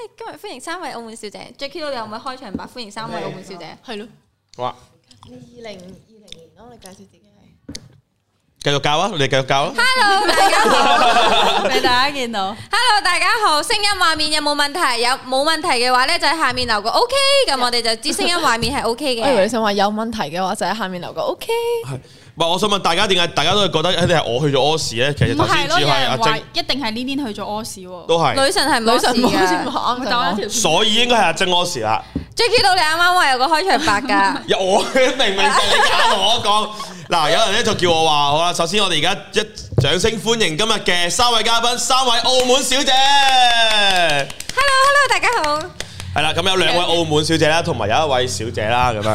今日歡迎3位澳門小姐 ，Jackie 你有冇開場白歡迎3位澳門小姐？ 係咯。 哇 2020年咯，你介紹自己係。 繼續教啊！你哋繼續教啊 Hello， 大家好， 俾大家見到。 Hello， 大家好，聲音畫面有冇問題？有冇問題嘅話咧，就喺下面留個 OK， 咁我哋就知聲音畫面係 OK 嘅。 我以為你想話有問題嘅話，就喺下面留個 OK。 係，唔係我想問大家點解大家都係覺得一定係我去咗屙屎咧？其實頭先只係阿晶， 一定係呢邊去咗屙屎喎。 都係女神係冇事嘅， 所以應該係阿晶屙屎啦。 Jackie 你啱啱話有個開場白㗎， 我明明就係你啱同我講。嗱，有人咧就叫我話好啦，首先我哋而家一掌聲歡迎今日嘅3位嘉賓，3位澳門小姐。 Hello， 大家好。 係啦，咁有2位澳門小姐啦，同埋有1位小姐啦，咁樣。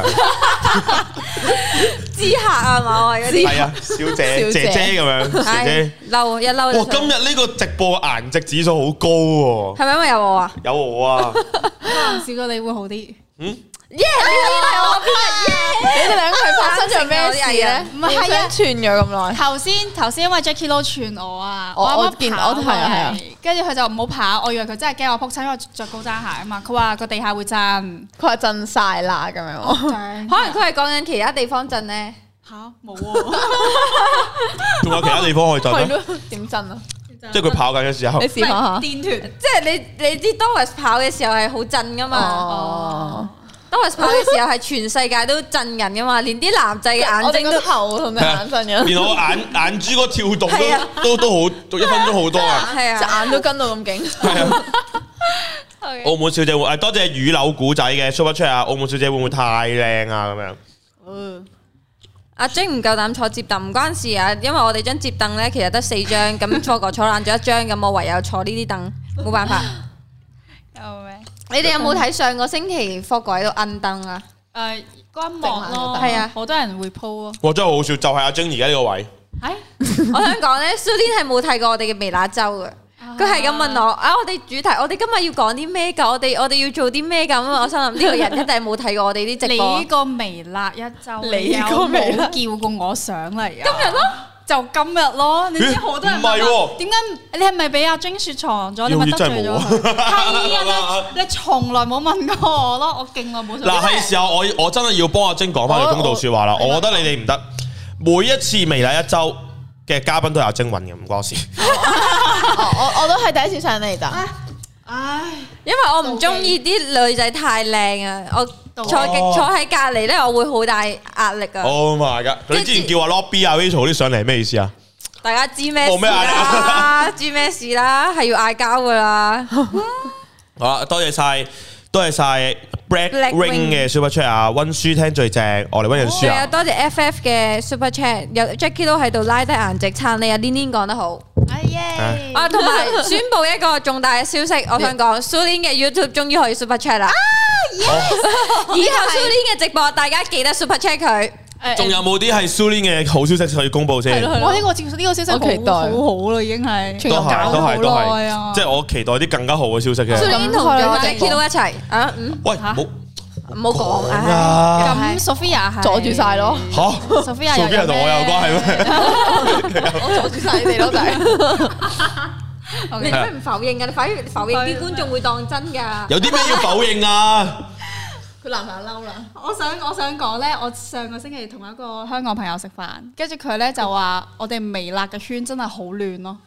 知客啊嘛，我係嗰啲。 係啊，小姐姐姐咁樣，姐姐。 嬲一嬲。 哇！今日呢個直播顏值指數好高喎。 係咪因為有我啊？ 有我啊。 試過你會好啲。 耶！你係我邊日耶？ 你哋兩個係發生咗咩事咧？ 唔係係啊， 串咗咁耐。 頭先因為 Jackie Lou 串我啊， 我啱啱見跑我係啊， 跟住佢就唔好跑，我以為佢真係驚我撲親，因為着高踭鞋啊嘛。佢話個地下會震， 佢話震晒啦咁樣。 可能佢係講緊其他地方震咧。 嚇冇喎， 仲有其他地方可以震咩？ 係咯，點震啊？ 即係佢跑緊嘅時候。 你試下下。 電團， 即係你知 Doris 跑嘅時候係好震噶嘛？ 哦。 Doris 跑嘅時候係全世界都震緊噶嘛，連啲男仔嘅眼睛都頭同隻眼震緊， 連我眼珠個跳動都好，1分鐘好多啊！ 係啊， 隻眼都跟到咁勁。 係啊。澳門小姐會多謝雨柳古仔嘅 Super Chat 啊！澳門小姐會唔會太靚啊？咁樣。 阿晶唔夠膽坐摺凳，唔關事啊，因為我哋張摺凳咧其實得4張，咁錯過坐爛咗1張，咁我唯有坐呢啲凳，冇辦法。 救命！ 你哋有冇睇上個星期霍哥喺度摁燈啊？ 嗰一幕咯， 係啊， 好多人會 po 咯。 哇！真係好笑，就係阿晶而家呢個位。 我想講咧，蘇天係冇睇過我哋嘅微辣周嘅，佢係咁問我啊，我哋主題，我哋今日要講啲咩㗎？我哋要做啲咩咁？我心諗呢個人一定係冇睇過我哋啲直播。 你個微辣一周， 你個微辣有冇叫過我上嚟啊？ 今日咯。 就今日咯，你知好多人唔係喎， 點解你係咪俾阿晶雪藏咗？你咪得罪咗佢？係啊，你從來冇問過我咯，我勁耐冇。 嗱，係時候我真係要幫阿晶講翻句公道説話啦。我覺得你哋唔得，每一次微辣一周嘅嘉賓都有晶雲嘅，唔關事。 我都係第一次上嚟咋。 唉， 因為我唔中意啲女仔太靚啊，我坐喺隔離咧，我會好大壓力啊。 Oh my god！你之前叫阿 Lobby 啊 Rachel 啲上嚟係咩意思啊？ 大家知咩事啦？知咩事啦？係要嗌交噶啦。 好啦，多謝晒 Black Ring 嘅 Super Chat 啊！溫書聽最正，我哋溫緊書啊！ 多謝 FF 嘅 Super Chat， 有 Jackie 都喺度拉低顏值撐你啊！Lin 講得好。 耶！ 啊，同埋宣布一個重大嘅消息，我想講 Sulin 嘅 YouTube 終於可以 Super Chat 啦！以後 Sulin 嘅直播，大家記得 Super Chat 佢。 仲有冇啲係 Sulin 嘅好消息可以公佈先？ 哇！呢個消息好好啦，已經係都係，即係我期待啲更加好嘅消息嘅。 Sulin 同咗 Jackie 都一齊啊！ 喂， 唔好講啊！ 咁 Sophia 係阻住晒咯。 嚇 ，Sophia 同我有關係咩？ 我阻住晒你哋咯，仔。 你做咩唔否認㗎？你反而否認啲觀眾會當真㗎。 有啲咩要否認啊？ 佢男朋友嬲啦。 我想講咧，我上個星期同一個香港朋友食飯，跟住佢咧就話我哋微辣嘅圈真係好亂咯。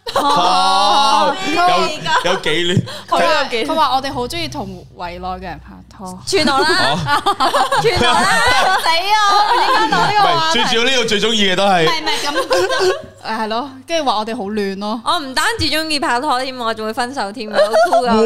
有幾亂？ 佢話我哋好中意同圍內嘅人拍拖。 串我啦！串我啦！ 死啊！我應該攞呢個話題。 最主要呢度最中意嘅都係。 唔係咁。係咯，跟住話我哋好亂咯。 我唔單止中意拍拖添，我仲會分手添，好酷噶！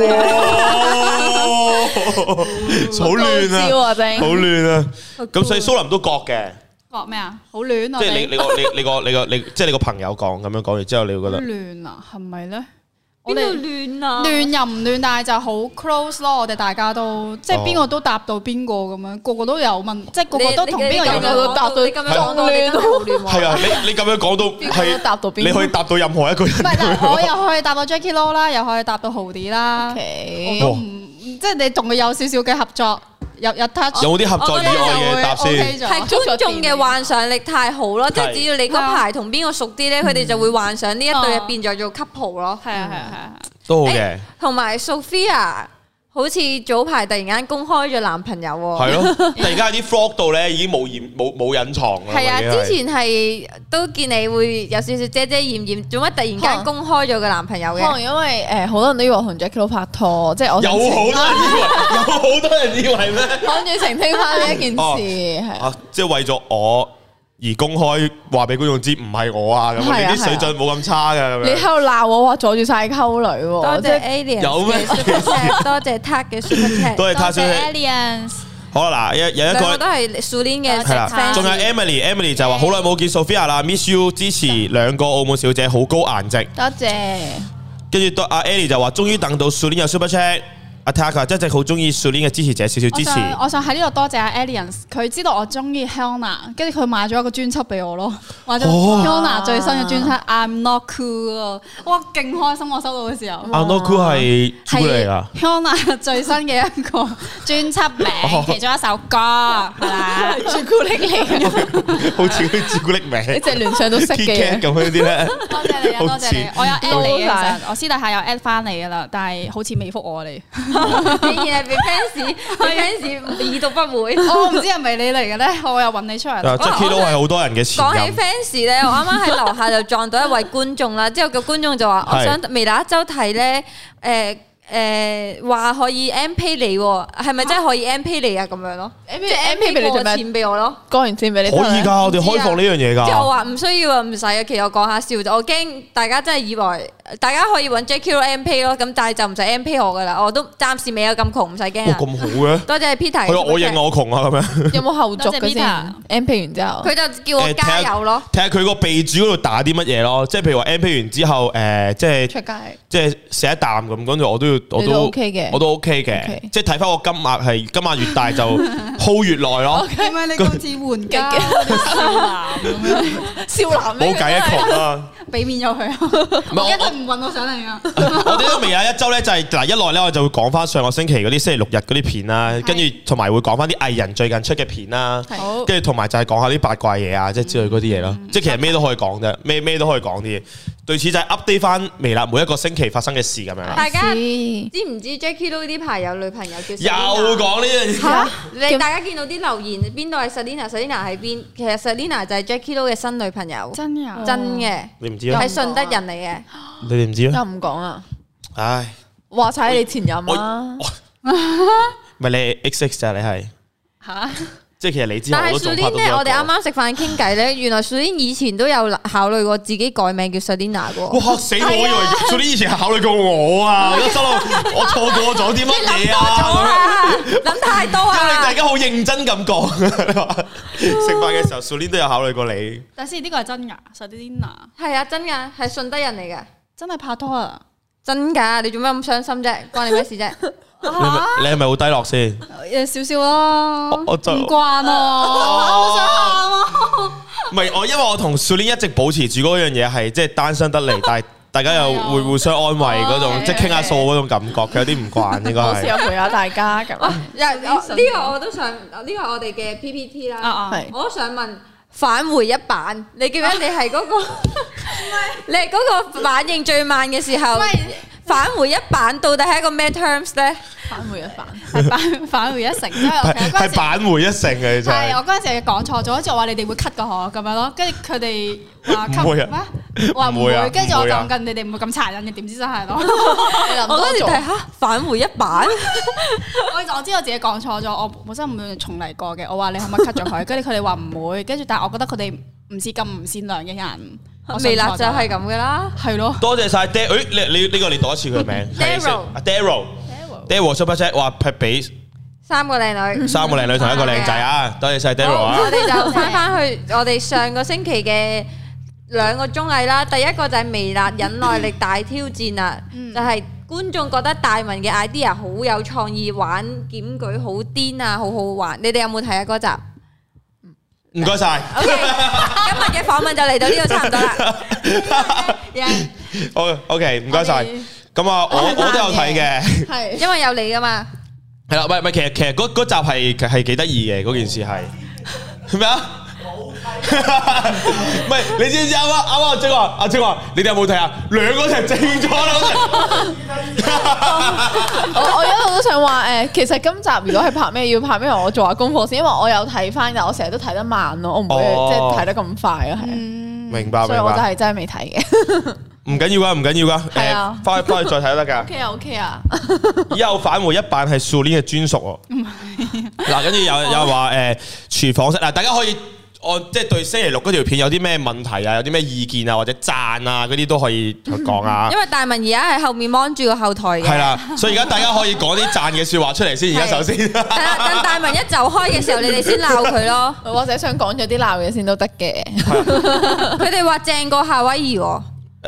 好亂啊！好亂啊！咁所以蘇林都覺嘅。 覺咩啊？好亂啊！ 即係你即係你個朋友講咁樣講完之後，你會覺得亂啊？係咪咧？ 邊度亂啊？ 亂又唔亂，但係就好 close 咯。我哋大家都即係邊個都答到邊個咁樣，個個都有問，即係個個都同邊個有都答到。你咁樣講到亂都好亂。 係啊，你咁樣講到係，你可以答到任何一個人。 唔係，但係我又可以答到 Jackie Lou 啦，又可以答到豪啲啦。我都唔即係你同佢有少少嘅合作。有 touch 有冇啲合作以外嘅答先？ 係觀眾嘅幻想力太好咯，即係只要你嗰排同邊個熟啲咧，佢哋就會幻想呢一對入變咗做 couple 咯。 係啊， 都好嘅。 同埋 Sophia 好似早排突然間公開咗男朋友喎。 係咯，突然間喺啲 vlog 度咧已經冇隱藏啦。 係啊，之前係都見你會有少少遮遮掩掩，做乜突然間公開咗個男朋友嘅？ 可能因為好多人都以為我同 Jackie 拍拖，即係我有好多人以為咩？ 講住澄清翻呢一件事係即係為咗我而公開話俾觀眾知唔係我啊咁，你啲水準冇咁差㗎咁樣。 你喺度鬧我話阻住晒溝女喎， 多謝 Alien 有咩？ 多謝 Tag 嘅 Super Chat， 多謝 Tag 嘅 Aliens。 好啦，嗱，有一個都係 Sulin 嘅係啦，仲有 Emily 就話好耐冇見 Sophia 啦 ，miss you， 支持兩個澳門小姐，好高顏值。 多謝。 跟住阿 Ellie 就話終於等到 Sulin 有 Super Chat。阿 Taka 一直好中意 Sulin 嘅支持者，少少支持。 我想喺呢度多謝阿 Aliens， 佢知道我中意 Hannah， 跟住佢買咗一個專輯俾我咯，買咗 Hannah 最新嘅專輯 I'm Not Cool， 哇，勁開心！我收到嘅時候 I'm Not Cool 係朱古力啊 ，Hannah 最新嘅一個專輯名，其中一首歌係啦， 朱古力嚟嘅， 好似啲朱古力名， 你隻聯想都識嘅咁樣啲咧。 多謝你啊，多謝你，我有 at 你嘅，其實我私底下有 at 翻你噶啦，但係好似未覆我你。 竟然係俾 fans 已讀不回。 我唔知係咪你嚟嘅咧，我又揾你出嚟。 Jackie 都係好多人嘅前任。講起 fans 咧，我啱啱喺樓下就撞到一位觀眾啦，之後個觀眾就話：我想微辣一周睇咧，話可以 M Pay 你喎，係咪真係可以 M Pay 你啊？咁樣咯，即係 M Pay 過錢俾我咯， 過完錢俾你。 可以㗎，我哋開放呢樣嘢㗎。 即係我話唔需要啊，唔使啊。其實我講下笑啫，我驚大家真係以為大家可以揾 Jackie M Pay 咯，咁但係就唔使 M Pay 我㗎啦，我都暫時未有咁窮，唔使驚啊。 咁好嘅， 多謝 Peter。 係我認我窮啊咁樣。 有冇後續嘅先 ？M Pay 完之後， 佢就叫我加油咯。 睇下佢個備注嗰度打啲乜嘢咯，即係譬如話 M Pay 完之後，即係出街， 即係食一啖咁，跟住我都 OK 嘅，我都 OK 嘅，即係睇翻個金額越大就 hold 越耐咯。 點解你今次換家少男冇計一窮啦， 俾面咗佢啊！我一定唔揾我上嚟啊！ 我哋都微辣一周咧，就係嗱一來咧，我就會講翻上個星期嗰啲星期六日嗰啲片啦，跟住同埋會講翻啲藝人最近出嘅片啦，跟住同埋就係講下啲八卦嘢啊，即係之類嗰啲嘢咯。即係其實咩都可以講啫，咩都可以講啲嘢。類似就係 update 翻微辣每一個星期發生嘅事咁樣啦。 大家知唔知 Jackie Lou 呢排有女朋友叫 Selina？ 又講呢樣嘢嚇！你大家見到啲留言邊度係 Selina 喺邊？其實 Selina 就係 Jackie Lou 嘅新女朋友。 真嘅， 真嘅。 你唔知啊？ 係順德人嚟嘅。 你哋唔知啊？ 又唔講啊！ 唉， 話晒你前任啊！ 咪你 XX 咋？你係嚇？ 即係其實你之後都仲拍到。 但係 Sulin 咧，我哋啱啱食飯傾偈咧，原來 Sulin 以前都有考慮過自己改名叫 Selina 嘅。 哇！嚇死我！以為 Sulin 以前係考慮過我啊！我心諗我錯過咗啲乜嘢啊？ 諗太多啊！ 因為大家好認真咁講，食飯嘅時候 Sulin 都有考慮過你。 但係呢個係真㗎 Selina 係啊，真㗎，係順德人嚟嘅， 真係拍拖啊！ 真㗎，你做咩咁傷心啫？關你咩事啫？ 你係咪好低落先？ 少少咯， 我就唔慣啊，好想喊啊！ 唔係我，因為我同 Sulin 一直保持住嗰樣嘢係即係單身得嚟，但係大家又會互相安慰嗰種，即係傾下數嗰種感覺，佢有啲唔慣應該係。 好似有陪下大家咁。 呢個我都想，呢個係我哋嘅 PPT 啦。我都想問返回一版，你記唔記得你係嗰個？你係嗰個反應最慢嘅時候。返回一版到底係一個咩 terms 咧？ 返回一版係返回一成，係返回一成嘅真係。 係我嗰陣時講錯咗，好似話你哋會 cut 個河咁樣咯，跟住佢哋話 cut 咩？話唔會，跟住我諗緊你哋唔會咁殘忍嘅，點知真係咯？ 我嗰時睇下返回一版， 我知我自己講錯咗，我本身唔會重嚟過嘅。我話你可唔可以 cut 咗佢？跟住佢哋話唔會，跟住但係我覺得佢哋唔似咁唔善良嘅人。 微辣就係咁噶啦， 係咯。 多謝晒 Daryl， 你呢個你讀一次佢名。Daryl Super Chat 話劈俾 3個靚女同一個靚仔啊！多謝晒 Daryl 啊！ 我哋就翻去我哋上個星期嘅2個綜藝啦。第一個就係微辣忍耐力大挑戰啊，就係觀眾覺得大文嘅 idea 好有創意，玩檢舉好癲啊，好好玩。你哋有冇睇啊嗰集？ 唔該晒。 OK， 今日嘅訪問就嚟到呢度差唔多啦。 OK， 唔該晒。咁啊，我都有睇嘅， 係因為有你噶嘛。 係啦，唔係，其實嗰集係幾得意嘅，嗰件事係咩啊？ 唔係，你知唔知啱啱阿晶話，你哋有冇睇啊？兩個一齊正咗啦！ 我一路都想話其實今集如果係拍咩，要拍咩，我做下功課先，因為我有睇翻，但我成日都睇得慢咯，我唔會即係睇得咁快咯，係。 明白， 所以我就係真係未睇嘅。 唔緊要噶，唔緊要噶，翻去再睇都得噶。 OK 啊。 以後返回一版係素鏈嘅專屬喎。嗱，跟住有人話廚房式嗱，大家可以按即係對星期六嗰條片有啲咩問題啊，有啲咩意見啊，或者讚啊嗰啲都可以講啊。 因為大文而家喺後面望住個後台嘅。 係啦，所以而家大家可以講啲讚嘅説話出嚟先。而家首先， 等大文一走開嘅時候，你哋先鬧佢咯。 或者想講咗啲鬧嘢先都得嘅。 佢哋話正過夏威夷喎。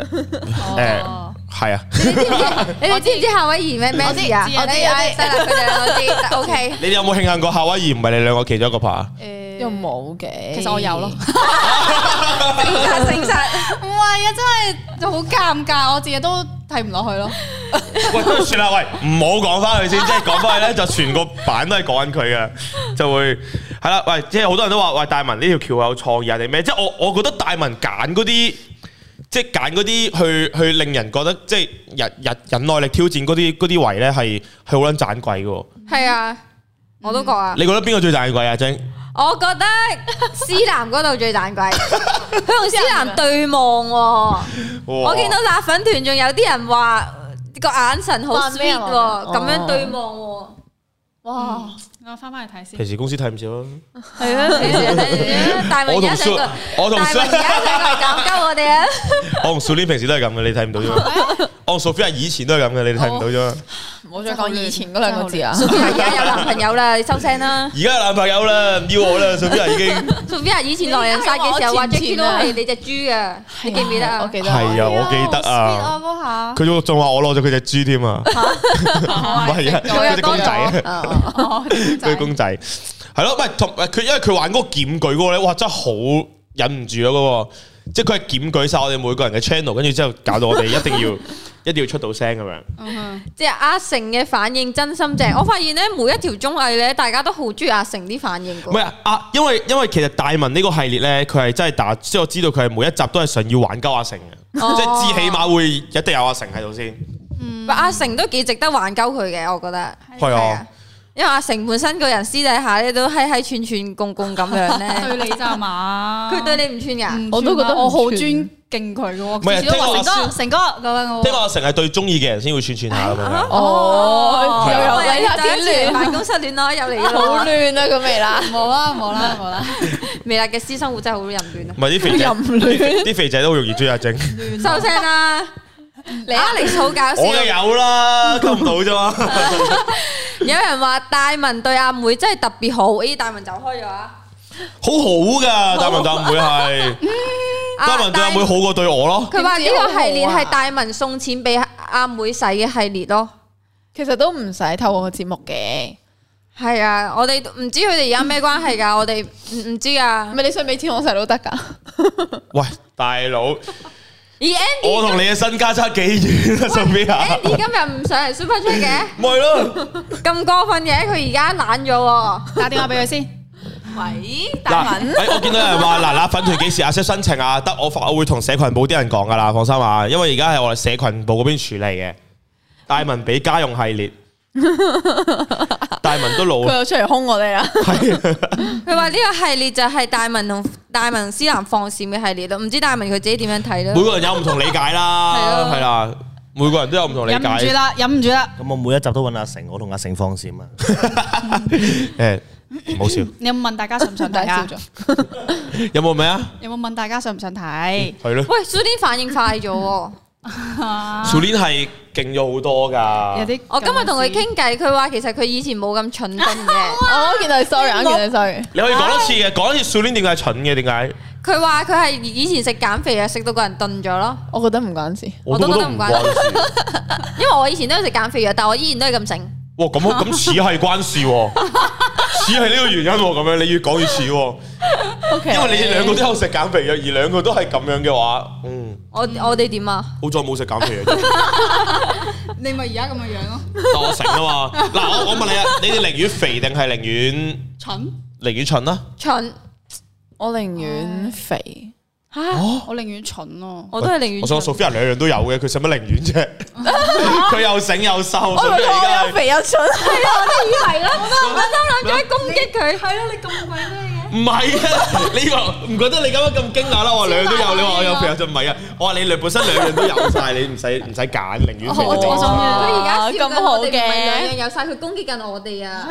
係啊。 你哋知唔知夏威夷咩事啊？我知，佢哋兩個知。OK。 你哋有冇慶幸過夏威夷唔係你兩個其中一個拍啊？ 又冇嘅， 其實我有咯。 誠實， 唔係啊，真係就好尷尬，我自己都睇唔落去咯。 喂，都算啦，喂，唔好講翻佢先，即係講翻去咧，就全個版都係講緊佢嘅，就會係啦。喂，即係好多人都話，喂，大文呢條橋有創意啊定咩？即係我覺得大文揀嗰啲。即係揀嗰啲去令人覺得即係忍耐力挑戰嗰啲位咧係好撚盞鬼嘅。係啊，我都覺啊。 你覺得邊個最盞鬼啊？晶？ 我覺得思南嗰度最盞鬼，佢同思南對望喎。我見到辣粉團仲有啲人話個眼神好 sweet 喎，咁樣對望喎。哇！ 我翻嚟睇先。 平時公司睇唔少咯。 係啊，平時睇大文而家成個，大文而家成個搞鳩我哋啊！ 我同 Sulin 平時都係咁嘅，你睇唔到啫嘛。我同 Sophia 以前都係咁嘅，你睇唔到啫嘛。 唔好再講以前嗰兩個字啊 ！Sophia 而家有男朋友啦，你收聲啦！ 而家有男朋友啦，唔要我啦，Sophia 已經。 Sophia 以前狼人殺嘅時候話 Jackie 都係你隻豬啊，你記唔記得啊？ 我記得。 係啊，我記得啊。 嗰下。 佢仲話我攞咗佢隻豬添啊！唔係啊，佢隻公仔啊。佢公仔係咯，唔係同佢，因為佢玩嗰個檢舉嗰個咧，哇，真係好忍唔住啊！嗰個，即係佢係檢舉晒我哋每個人嘅 channel，跟住之後搞到我哋一定要出到聲咁樣。 即係阿成嘅反應真心正，我發現咧每一條綜藝咧，大家都好中意阿成啲反應。 唔係啊，因為其實大文呢個系列咧，佢係真係打，即係我知道佢係每一集都係想要玩鳩阿成嘅，即係至起碼會一定有阿成喺度先。 阿成都幾值得玩鳩佢嘅，我覺得。 係啊。 因為阿成本身個人私底下咧都閪串串共共咁樣咧， 對你咋嘛？ 佢對你唔串噶， 我都覺得我好尊敬佢嘅喎。唔係，聽話成哥咁樣我。 聽話阿成係對中意嘅人先會串串下咁樣。 哦，又有你睇亂辦公室戀咯，又嚟啦， 好亂啊！咁微辣， 冇啦， 微辣嘅私生活真係好淫亂啊！ 唔係啲肥仔，啲肥仔都好容易追阿晶。 收聲啦！你好搞笑， 我梗有啦，溝唔到啫嘛。 有人話大文對阿妹真係特別好，大文走開咗啊！ 好好噶，大文對阿妹係，大文對阿妹好過對我咯。 佢話呢個系列係大文送錢俾阿妹使嘅系列咯。 其實都唔使透過個節目嘅。 係啊，我哋唔知佢哋而家咩關係噶，我哋唔知啊。 咪你想俾錢我使都得噶。 喂，大佬。 Andy 我同你嘅身家差幾遠啊，Sophia？Andy 今日唔上嚟 Super Chat 嘅， 咪咯， 咁過分嘅，佢而家懶咗喎， 打電話俾佢先。 喂，大文， 我見到有人話嗱，粉團幾時access申請啊？得我會同社群部啲人講噶啦，放心啊，因為而家係我哋社群部嗰邊處理嘅。大文俾家用系列，大文都老， 佢又出嚟兇我哋啦。 佢話呢個系列就係大文同大文思南放閃嘅系列咯，唔知大文佢自己點樣睇咧？ 每個人有唔同理解啦，係啦，每個人都有唔同理解。 忍唔住啦！ 咁我每一集都揾阿成，我同阿成放閃啊！ 誒，唔好笑。 你有冇問大家想唔想睇啊？ 有冇咩啊？ 有冇問大家想唔想睇？ 係咯。 喂，Sulin 反應快咗喎。 Sulin 係勁咗好多㗎。 我今日同佢傾偈，佢話其實佢以前冇咁蠢笨嘅。 我見到你 sorry， 你可以講多次嘅，講一次 Sulin 點解係蠢嘅？點解？ 佢話佢係以前食減肥啊，食到個人鈍咗咯。 我覺得唔關事， 我都覺得唔關事。因為我以前都有食減肥藥，但我依然都係咁醒。 哇，咁似係關事喎，似係呢個原因喎，咁樣你越講越似喎。因為你兩個都有食減肥藥，而兩個都係咁樣嘅話， 我哋點啊？ 好在冇食減肥藥。 你咪而家咁嘅樣咯。 但我成啊嘛。嗱，我問你啊，你哋寧願肥定係寧願蠢？ 寧願蠢啦。 蠢。 我寧願肥。 我寧願蠢咯， 我都係寧願。 我想 Sophia 兩樣都有嘅，佢使乜寧願啫？佢又醒又瘦， 我又肥又蠢， 係啊，我都以為啦，我心諗住攻擊佢。 係咯，你咁鬼咩嘅？ 唔係啊，你話唔覺得你咁樣咁驚訝啦？我話兩樣都有，你話我有肥有就唔係啊！我話你本身兩樣都有晒，你唔使揀，寧願肥就正常。 佢而家笑緊我哋，唔係兩樣嘅。 有晒，佢攻擊緊我哋啊！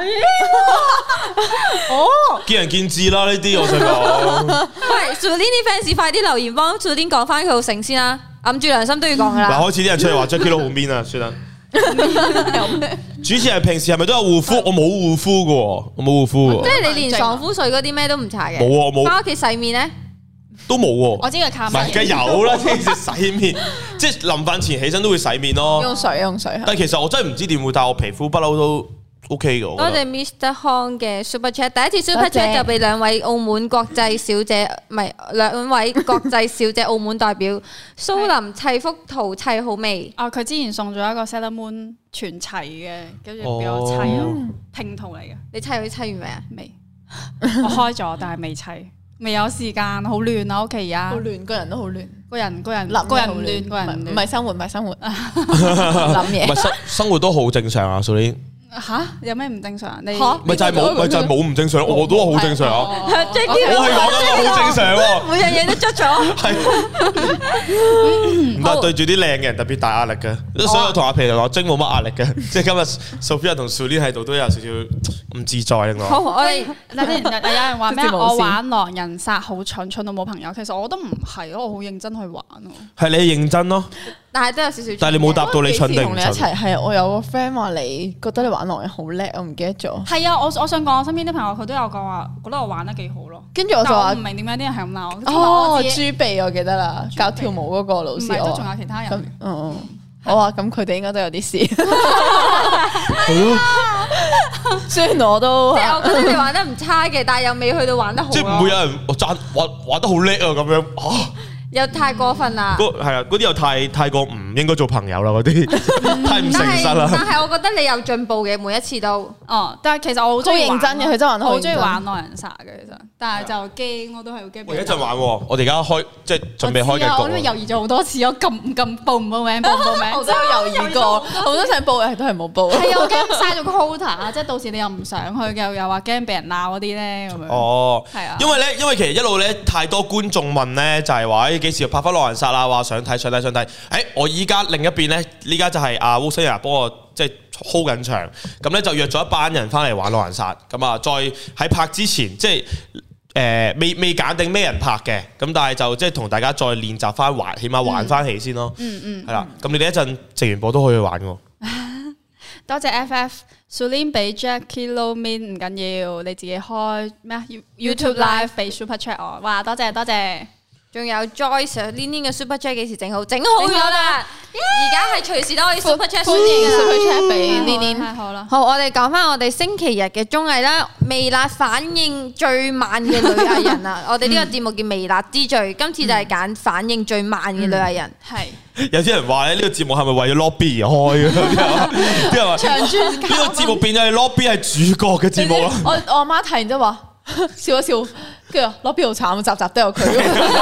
見仁見智啦，呢啲我想講。 喂 Sulin 啲 fans 快啲留言幫 Sulin 講翻佢好成先啦，揞住良心都要講噶啦。 嗱，開始啲人出嚟話 Jacky 都好 mean 啊，算啦。主持人平時係咪都有護膚？我冇護膚嘅喎，我冇護膚嘅。 即係你連爽膚水嗰啲咩都唔搽嘅？ 冇啊，冇。 翻屋企洗面咧？ 都冇喎。 我知佢靠唔係，梗係有啦，即係洗面，即係臨瞓前起身都會洗面咯。 用水。 但係其實我真係唔知點會，但係我皮膚不嬲都 OK 嘅。 多謝 Mr. Hong 嘅 Super Chat， 第一次 Super Chat 就俾兩位澳門國際小姐，唔係兩位國際小姐澳門代表蘇林砌幅圖砌好未？ 佢之前送咗一個 Sailor Moon 全齊嘅，跟住俾我砌咯，拼圖嚟嘅。 你砌完未啊？ 未，我開咗，但係未砌，未有時間，好亂啊屋企而家。 好亂，個人都好亂， 個人唔亂， 唔係生活，諗嘢。 唔係生活都好正常啊 Sulin。 吓？有咩唔正常？你咪就係冇唔正常，我都話好正常啊！我係 Jacky 講緊好正常喎， 每樣嘢都捽咗。 係唔得，對住啲靚嘅人特別大壓力嘅，所以我同阿皮同阿晶冇乜壓力嘅，即係今日 Sophia 同 Sulin 喺度都有少少唔自在令我。 好，我哋有人話咩？我玩狼人殺好蠢到冇朋友。其實我都唔係咯，我好認真去玩咯。 係你認真咯， 但係都有少少。 但係你冇答到你蠢定唔同你一蠢？ 齊係我有個 friend 話你覺得你玩狼人好叻，我唔記得咗。 係啊，我想講我身邊啲朋友佢都有講話，覺得我玩得幾好咯。 跟住我就話唔明點解啲人係咁鬧我。 朱碧我記得啦，教跳舞嗰個老師。 唔係，都仲有其他人。 我話咁佢哋應該都有啲事。係咯。雖然我都即係我覺得你玩得唔差嘅，但係又未去到玩得好。 即係唔會有人玩得好叻啊咁樣啊！ 又太過分啦！ 係啊，嗰啲又太過唔應該做朋友啦，嗰啲太唔誠實啦。 但係我覺得你有進步嘅，每一次都。 但係其實我好中意認真嘅，佢真係玩得好認真。 我好中意玩狼人殺嘅，其實，但係就驚，我都係好驚。 我一陣玩喎，我哋而家開即係準備開緊我都猶豫咗好多次，我報唔報名？ 我都有猶豫過，我都想報嘅，都係冇報。 係啊，我驚嘥咗個 quota，即係到時你又唔想去，又話驚俾人鬧嗰啲咧咁樣。 哦， 係啊， 因為其實一路咧太多觀眾問咧，就係話幾時要拍翻狼人殺啦？話想睇。我依家另一邊咧，依家就係阿 Wilson 幫我即係 hold 緊場，咁咧就約咗一班人翻嚟玩狼人殺，咁啊再喺拍之前即係未揀定咩人拍嘅，咁但係就即係同大家再練習翻玩，起碼玩翻起先咯。係啦，咁你哋一陣直完播都可以去玩喎。 多謝 FF Sulin 俾 Jacky Low Min 唔緊要，你自己開咩啊 YouTube Live 俾 Super Chat 我，哇多謝。 仲有 Joyce Lin 嘅 Super Chat 幾時整好？整好咗啦！而家係隨時都可以 Super Chat Super Chat 俾 Lin。 太好啦！ 好，我哋講翻我哋星期日嘅綜藝啦，微辣反應最慢嘅女藝人啊！我哋呢個節目叫微辣之最，今次就係揀反應最慢嘅女藝人。 係有啲人話咧，呢個節目係咪為咗 lobby 而開嘅？啲人話呢個節目變咗係 lobby 係主角嘅節目咯。 我阿媽睇完之後話笑一笑，跟住攞邊好慘，集集都有佢。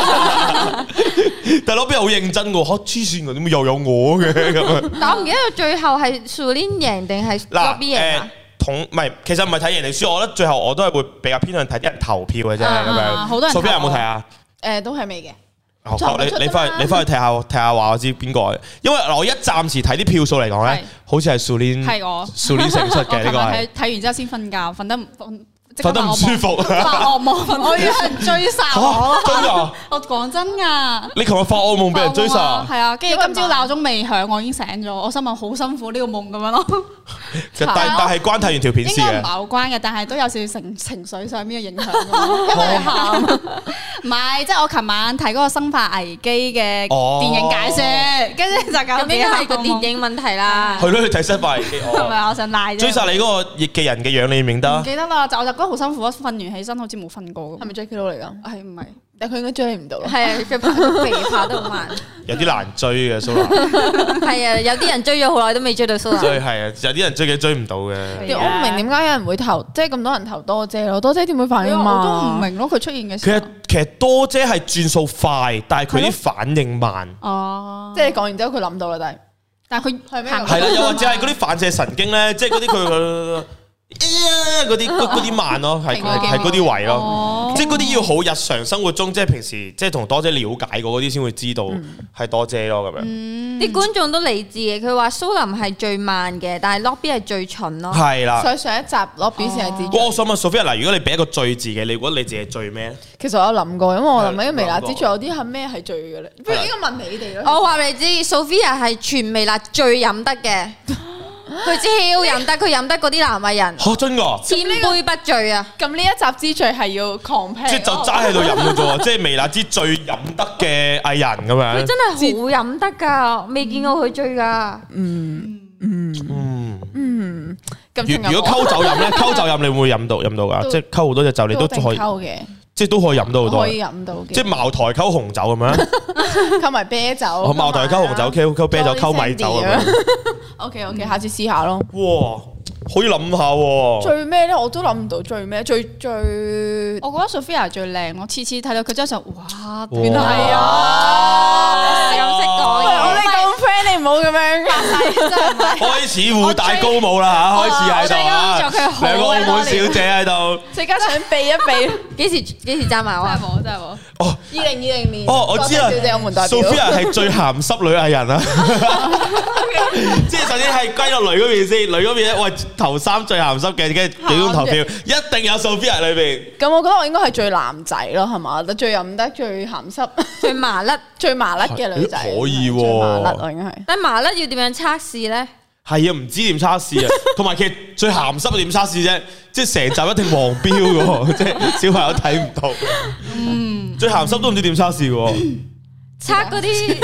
但係攞邊好認真嘅，黐線嘅，點解又有我嘅咁樣？ 但我唔記得最後係 Sulin 贏定係 lobby 贏啊？ 其實唔係睇贏定輸，我覺得最後我都係會比較偏向睇啲人投票嘅啫咁樣。 好多人投。 Sophia有冇睇啊？ 都係未嘅。 你翻去睇下話我知邊個，因為我一暫時睇啲票數嚟講咧，好似係 Sulin 勝出嘅呢個係。 睇完之後先瞓覺，瞓得唔舒服， 發惡夢，我以為人追殺我。 真㗎？ 我講真㗎。 你琴日發惡夢俾人追殺？ 係啊，跟住今朝鬧鐘未響，我已經醒咗，我心諗好辛苦呢個夢咁樣咯。 但係關睇完條片事嘅。 應該唔係好關嘅，但係都有少少情緒上面嘅影響㗎。因為喊。唔係，即係我琴晚睇嗰個《生化危機》嘅電影解說，跟住就搞咁應該係個電影問題啦。 係咯，你睇《生化危機》。 係咪我想賴啫？ 追殺你嗰個嘅人嘅樣，你認唔認得？ 唔記得啦，就嗰覺得好辛苦啊！瞓完起身好似冇瞓過咁。 係咪 Jackie Lou 嚟㗎？ 係唔係？ 但佢應該追你唔到咯。 係啊，佢跑得好慢。 有啲難追嘅蘇娜。 係啊，有啲人追咗好耐都未追到蘇娜。 所以係啊，有啲人追唔到嘅。 我唔明點解有人會投，即係咁多人投多姐咯？多姐點會反應慢？ 我都唔明咯，佢出現嘅時候。 其實多姐係轉數快，但係佢啲反應慢。 哦， 即係你講完之後佢諗到啦，但係佢係咩？ 係啦，又或者係嗰啲反射神經咧，即係嗰啲佢。嗰啲慢咯，係嗰啲位咯，即係嗰啲要好日常生活中，即係平時即係同多姐了解過嗰啲先會知道係多姐咯咁樣。 啲觀眾都理智嘅，佢話蘇林係最慢嘅，但係 Lobby 係最蠢咯。 係啦， 所以上一集 Lobby 先係自。 我想問 Sophia 嗱，如果你俾一個最字嘅，你覺得你自己係最咩？ 其實我有諗過，因為我諗緊微辣之最有啲係咩係最嘅咧？不如應該問你哋咯。 我話你知 ，Sophia 係全微辣最飲得嘅。佢超飲得，佢飲得嗰啲男藝人嚇真㗎， 千杯不醉啊！ 咁呢一集之最係要 compare， 即係就齋喺度飲嘅啫喎，即係微辣之最飲得嘅藝人咁樣。 佢真係好飲得㗎，未見過佢醉㗎。 如果溝酒飲咧，溝酒飲你會唔會飲到㗎？即係溝好多隻酒，你都可以溝嘅， 即係都可以飲到好多。 可以飲到嘅， 即係茅台溝紅酒咁樣， 溝埋啤酒。 茅台溝紅酒，溝啤酒，溝米酒咁樣。 OK，下次試下咯。 哇，可以諗下喎。 最咩咧？我都諗唔到最咩，最。 我覺得 Sophia 最靚，我次次睇到佢張相，哇！ 原來係啊， 咁識講我哋咁 friend，你唔好咁樣。 開始互帶高帽啦嚇，開始喺度啊！兩個澳門小姐喺度， 即刻想避一避。 幾時爭埋我啊？ 真係冇。 哦 ，2020年。 哦，我知啦。 小姐有門代表。 Sophia 係最鹹濕女藝人啊！即係首先係歸落女嗰邊先，女嗰邊咧，喂頭3最鹹濕嘅，跟住幾種投票，一定有 Sophia 裏邊。 咁我覺得我應該係最男仔咯，係嘛？最飲得、最鹹濕、 最麻甩、 最麻甩嘅女仔。 可以喎， 最麻甩我應該係。 但麻甩要點樣測試咧？ 係啊，唔知點測試啊，同埋其實最鹹濕點測試啫？即係成集一定黃標嘅喎，即係小朋友睇唔到。最鹹濕都唔知點測試嘅喎。 測嗰啲。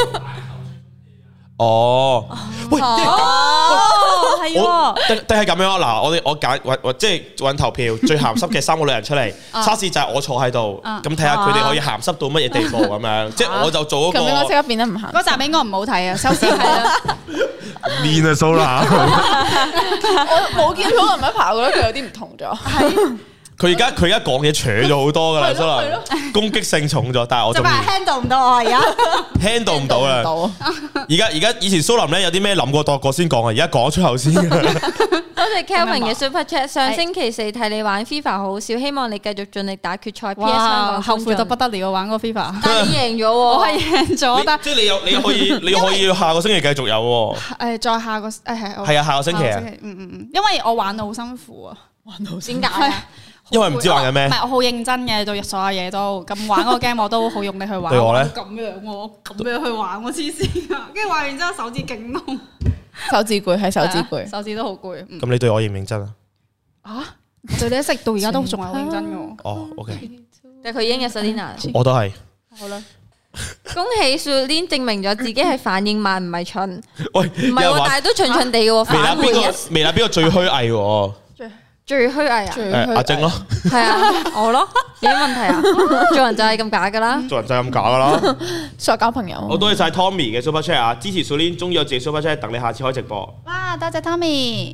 哦，喂， 係喎， 定係咁樣啊？嗱，我揀即係揾投票最鹹濕嘅3個女人出嚟，測試就係我坐喺度，咁睇下佢哋可以鹹濕到乜嘢地步咁樣，即係我就做嗰個。 咁應該即刻變得唔鹹。 嗰集應該唔好睇啊，收視係啦。 面啊蘇娜， 我冇見到林一爬，我覺得佢有啲唔同咗。 佢而家講嘢扯咗好多噶啦，蘇娜攻擊性重咗，但係我仲 handle 唔到我而家 handle 唔到啦。而家以前蘇林咧有啲咩諗過度過先講啊，而家講出口先。多謝 Kelvin 嘅 Super Chat， 上星期4睇你玩 FIFA 好笑，希望你繼續盡力打決賽。PS 香港後悔到不得了，玩嗰個 FIFA， 但係你贏咗喎， 我係贏咗，但即係你可以下個星期繼續有喎。 再下個係啊，下個星期啊， 因為我玩到好辛苦啊， 玩到點解啊？ 因為唔知玩緊咩， 唔係我好認真嘅，做所有嘢都咁玩嗰個 game 我都好用力去玩。 對我咧咁樣喎，咁樣去玩我黐線啊！跟住玩完之後手指勁痛， 手指攰係手指攰， 手指都好攰。 咁你對我認唔認真啊？ 啊！對你一直到而家都仲係好認真嘅。 哦，OK， 但係佢已經有 Selina， 我都係。 好啦，恭喜 Sulin 證明咗自己係反應慢，唔係蠢。 喂， 唔係喎，但係都蠢蠢地嘅喎。反回微辣邊個最虛偽喎？ 最虛偽啊！ 阿晶咯， 係啊，我咯，有咩問題啊？做人就係咁假噶啦， 做人就係咁假噶啦。 塑交朋友。 我多謝晒 Tommy 嘅 Super Chat 啊，支持 Sulin，中意有自己 Super Chat，等你下次開直播。 哇，多謝 Tommy。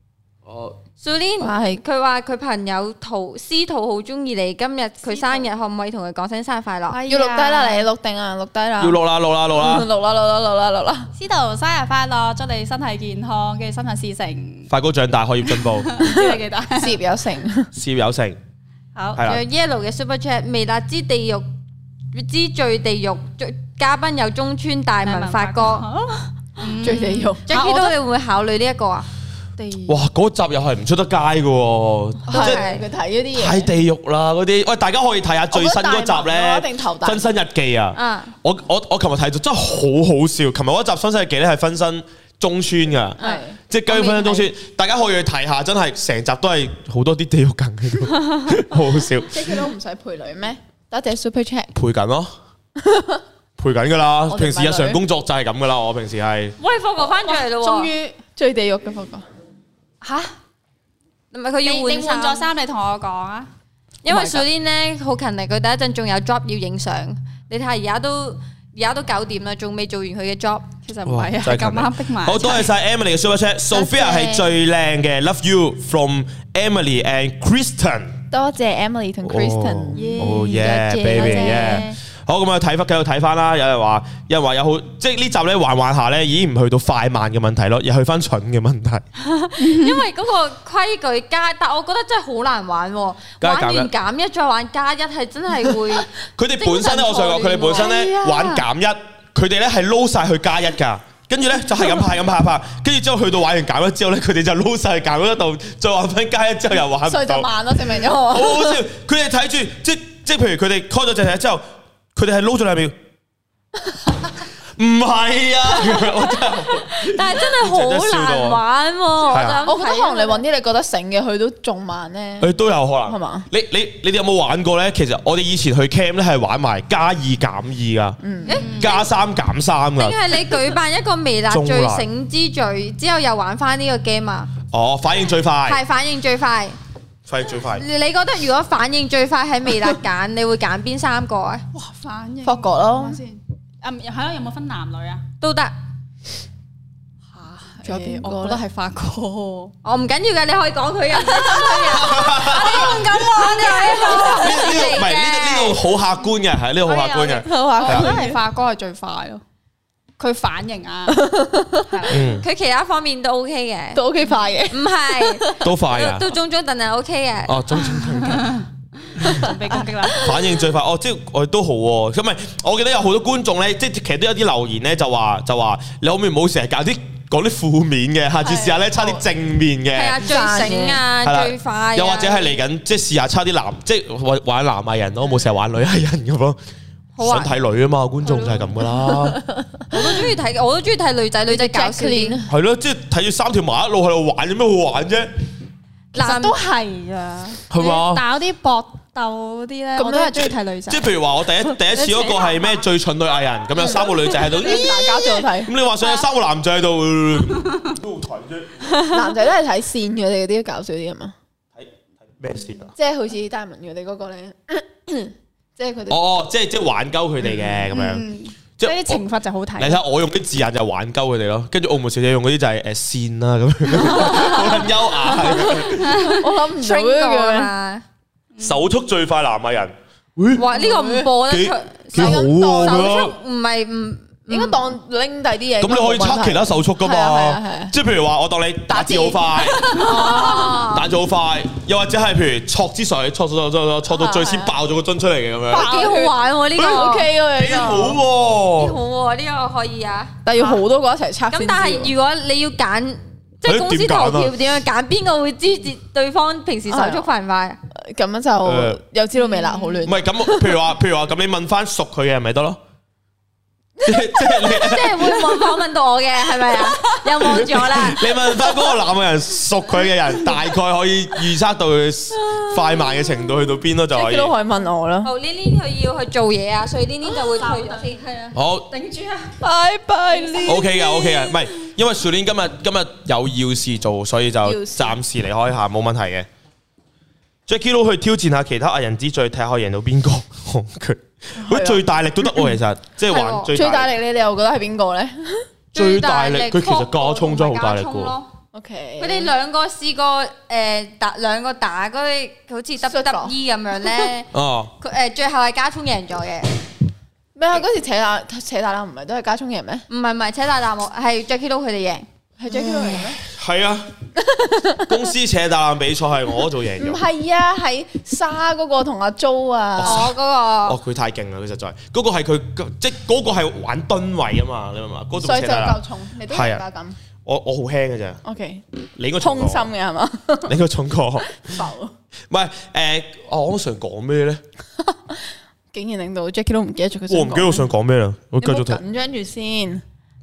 Sulin 佢話佢朋友司徒好中意你，今日佢生日，可唔可以同佢講聲生日快樂？ 要錄低啦，你錄定啊，錄低啦。 要錄啦，錄啦，錄啦， 錄啦。 司徒生日快樂，祝你身體健康，跟住心想事成， 快高長大，學業進步， 知你記得， 事業有成， 事業有成。 好， 係啦。 有 Yellow 嘅 Super Chat， 微辣之地獄之最地獄，嘉賓有中村大文發哥， 最地獄。 Jackie 都你會唔會考慮呢一個啊？ 哇！嗰集又係唔出得街嘅喎， 即係佢睇嗰啲嘢太地獄啦嗰啲。喂，大家可以睇下最新嗰集咧，《分身日記》啊！我琴日睇咗真係好好笑。琴日嗰集《分身日記》咧係分身中村㗎，即係姜分身中村。大家可以去睇下，真係成集都係好多啲地獄梗喺度，好好笑。 即係佢都唔使陪女咩？多謝 Super Chat。 陪緊咯，陪緊㗎啦。平時日常工作就係咁㗎啦。我平時係。 喂，霍哥翻咗嚟咯喎！ 終於最地獄嘅霍哥。 吓？ 唔係佢要你換咗衫，你同我講啊。 因為 Sulin 咧好勤力，佢第一陣仲有 job 要影相。你睇下而家都9點啦，仲未做完佢嘅 job。 其實唔係啊，咁啱逼埋。 好多謝晒 Emily 嘅 Super Chat，Sophia 係最靚嘅 ，Love you from Emily and Kristen。 多謝 Emily 同 Kristen。 Oh yeah，baby yeah。好咁啊，繼續睇翻啦。有人話有好，即係呢集咧玩下咧，已經唔去到快慢嘅問題咯，又去翻蠢嘅問題。 因為嗰個規矩加，但我覺得真係好難玩喎。玩完減一再玩加一係真係會。 佢哋本身咧，我想講，佢哋本身咧玩減一，佢哋咧係撈晒去加一㗎。跟住咧就係咁派，跟住之後去到玩完減一之後咧，佢哋就撈晒去減一度，再玩翻加一之後又玩唔到。 所以就慢咯，證明咗。好好笑，佢哋睇住即係譬如佢哋開咗隻之後。佢哋係撈咗2秒，唔係啊！ 但係真係好難玩喎。 我覺得可能你揾啲你覺得醒嘅，佢都仲慢咧。 佢都有可能係嘛？ 你哋有冇玩過咧？其實我哋以前去 camp 咧係玩埋+2減2噶，+3減3噶。 定係你舉辦一個微辣最醒之最之後又玩翻呢個 game 啊？ 哦，反應最快， 係反應最快。 反應最快。 你覺得如果反應最快喺微辣揀，你會揀邊3個啊？ 哇，反應。 霍國咯。 先。係咯，有冇分男女啊？ 都得。 仲有邊個？ 我覺得係法國。 我唔緊要嘅，你可以講佢人，我唔敢玩嘅。 唔係呢度好客觀嘅，係呢度好客觀嘅。 我覺得係法國係最快咯。佢反應啊， 佢其他方面都 OK 嘅， 都 OK 快嘅， 唔係都快嘅， 都中等係 OK 嘅。 哦，中準備攻擊啦！ 反應最快，哦，即係我哋都好喎。咁咪，我記得有好多觀眾咧，即係其實都有啲留言咧，就話你可唔可以唔好成日講啲負面嘅，下次試下咧差啲正面嘅。 係啊，最醒啊，最快。 又或者係嚟緊，即係試下差啲即係玩男藝人咯，冇成日玩女藝人咁咯。想睇女啊嘛，觀眾就係咁噶啦。 我都中意睇女仔搞笑啲。 係咯，即係睇住3條麻一路喺度玩，有咩好玩啫？ 其實都係噶， 係嘛？ 打啲搏鬥嗰啲咧，我都係中意睇女仔。 即係譬如話，我第一次嗰個係咩最蠢女藝人，咁有3個女仔喺度， 大家最好睇。 咁你話想有3個男仔喺度，都好睇啫。 男仔都係睇線佢哋嗰啲搞笑啲啊嘛。 睇咩線啊？ 即係好似戴文佢哋嗰個咧。即係佢哋哦，即係玩鳩佢哋嘅咁樣， 即係啲懲罰就好睇。 你睇下我用啲字眼就玩鳩佢哋咯，跟住澳門小姐用嗰啲就係線啦咁樣，好優雅。 我諗唔到嘅手速最快男藝人， 哇！呢個唔播得出， 幾好喎！ 手速唔係唔應該當拎第啲嘢。 咁你可以測其他手速噶嘛？即係譬如話，我當你打字好快，打字好快，又或者係譬如戳支水，戳到最先爆咗個樽出嚟嘅咁樣。 幾好玩喎！呢個 OK 喎， 幾好喎！ 幾好喎！呢個可以啊。 但係要好多個一齊測。 咁但係如果你要揀，即係公司投票點樣揀？邊個會知對方平時手速快唔快？ 咁樣就又知道微辣好亂。 唔係咁，譬如話咁，你問翻熟佢嘅咪得咯。即係會訪問到我嘅係咪啊？又望咗啦。 你問翻嗰個男嘅人熟佢嘅人，大概可以預測到佢快慢嘅程度去到邊咯，就可以。 都可以問我啦。 好，呢佢要去做嘢啊，所以呢就會退咗先。係啊。 好， 頂住啊！ 拜拜。 OK 嘅，OK 嘅，唔係因為樹年今日有要事做，所以就暫時離開下，冇問題嘅。Jacky Lou 去挑戰下其他藝人之最，睇下可以贏到邊個。佢最大力都得喎，其實即係玩最大力。 你哋又覺得係邊個咧？ 最大力佢其實加蔥真係好大力嘅。 OK， 佢哋兩個試過兩個打嗰啲好似 WWE 咁樣咧。哦。佢最後係加蔥贏咗嘅。 咩啊？嗰時扯大欖唔係都係加蔥贏咩？ 唔係扯大欖，係 Jacky Lou 佢哋贏。 係 Jacky Lou贏咩？ 係啊，公司扯大欖比賽係我做贏咗。 唔係啊，係沙嗰個同阿 Jo 啊。 嗰個。 哦，佢太勁啦！佢實在嗰個係佢即係嗰個係玩噸位啊嘛，你明嘛？ 所以就夠重，你都係加咁。我好輕嘅啫。 OK， 你應該重過。 通心嘅係嘛？ 你應該重過。 浮。 唔係我想講咩咧？ 竟然令到 Jacky 都唔記得咗佢。 我唔記得我想講咩啦，我繼續睇。 緊張住先。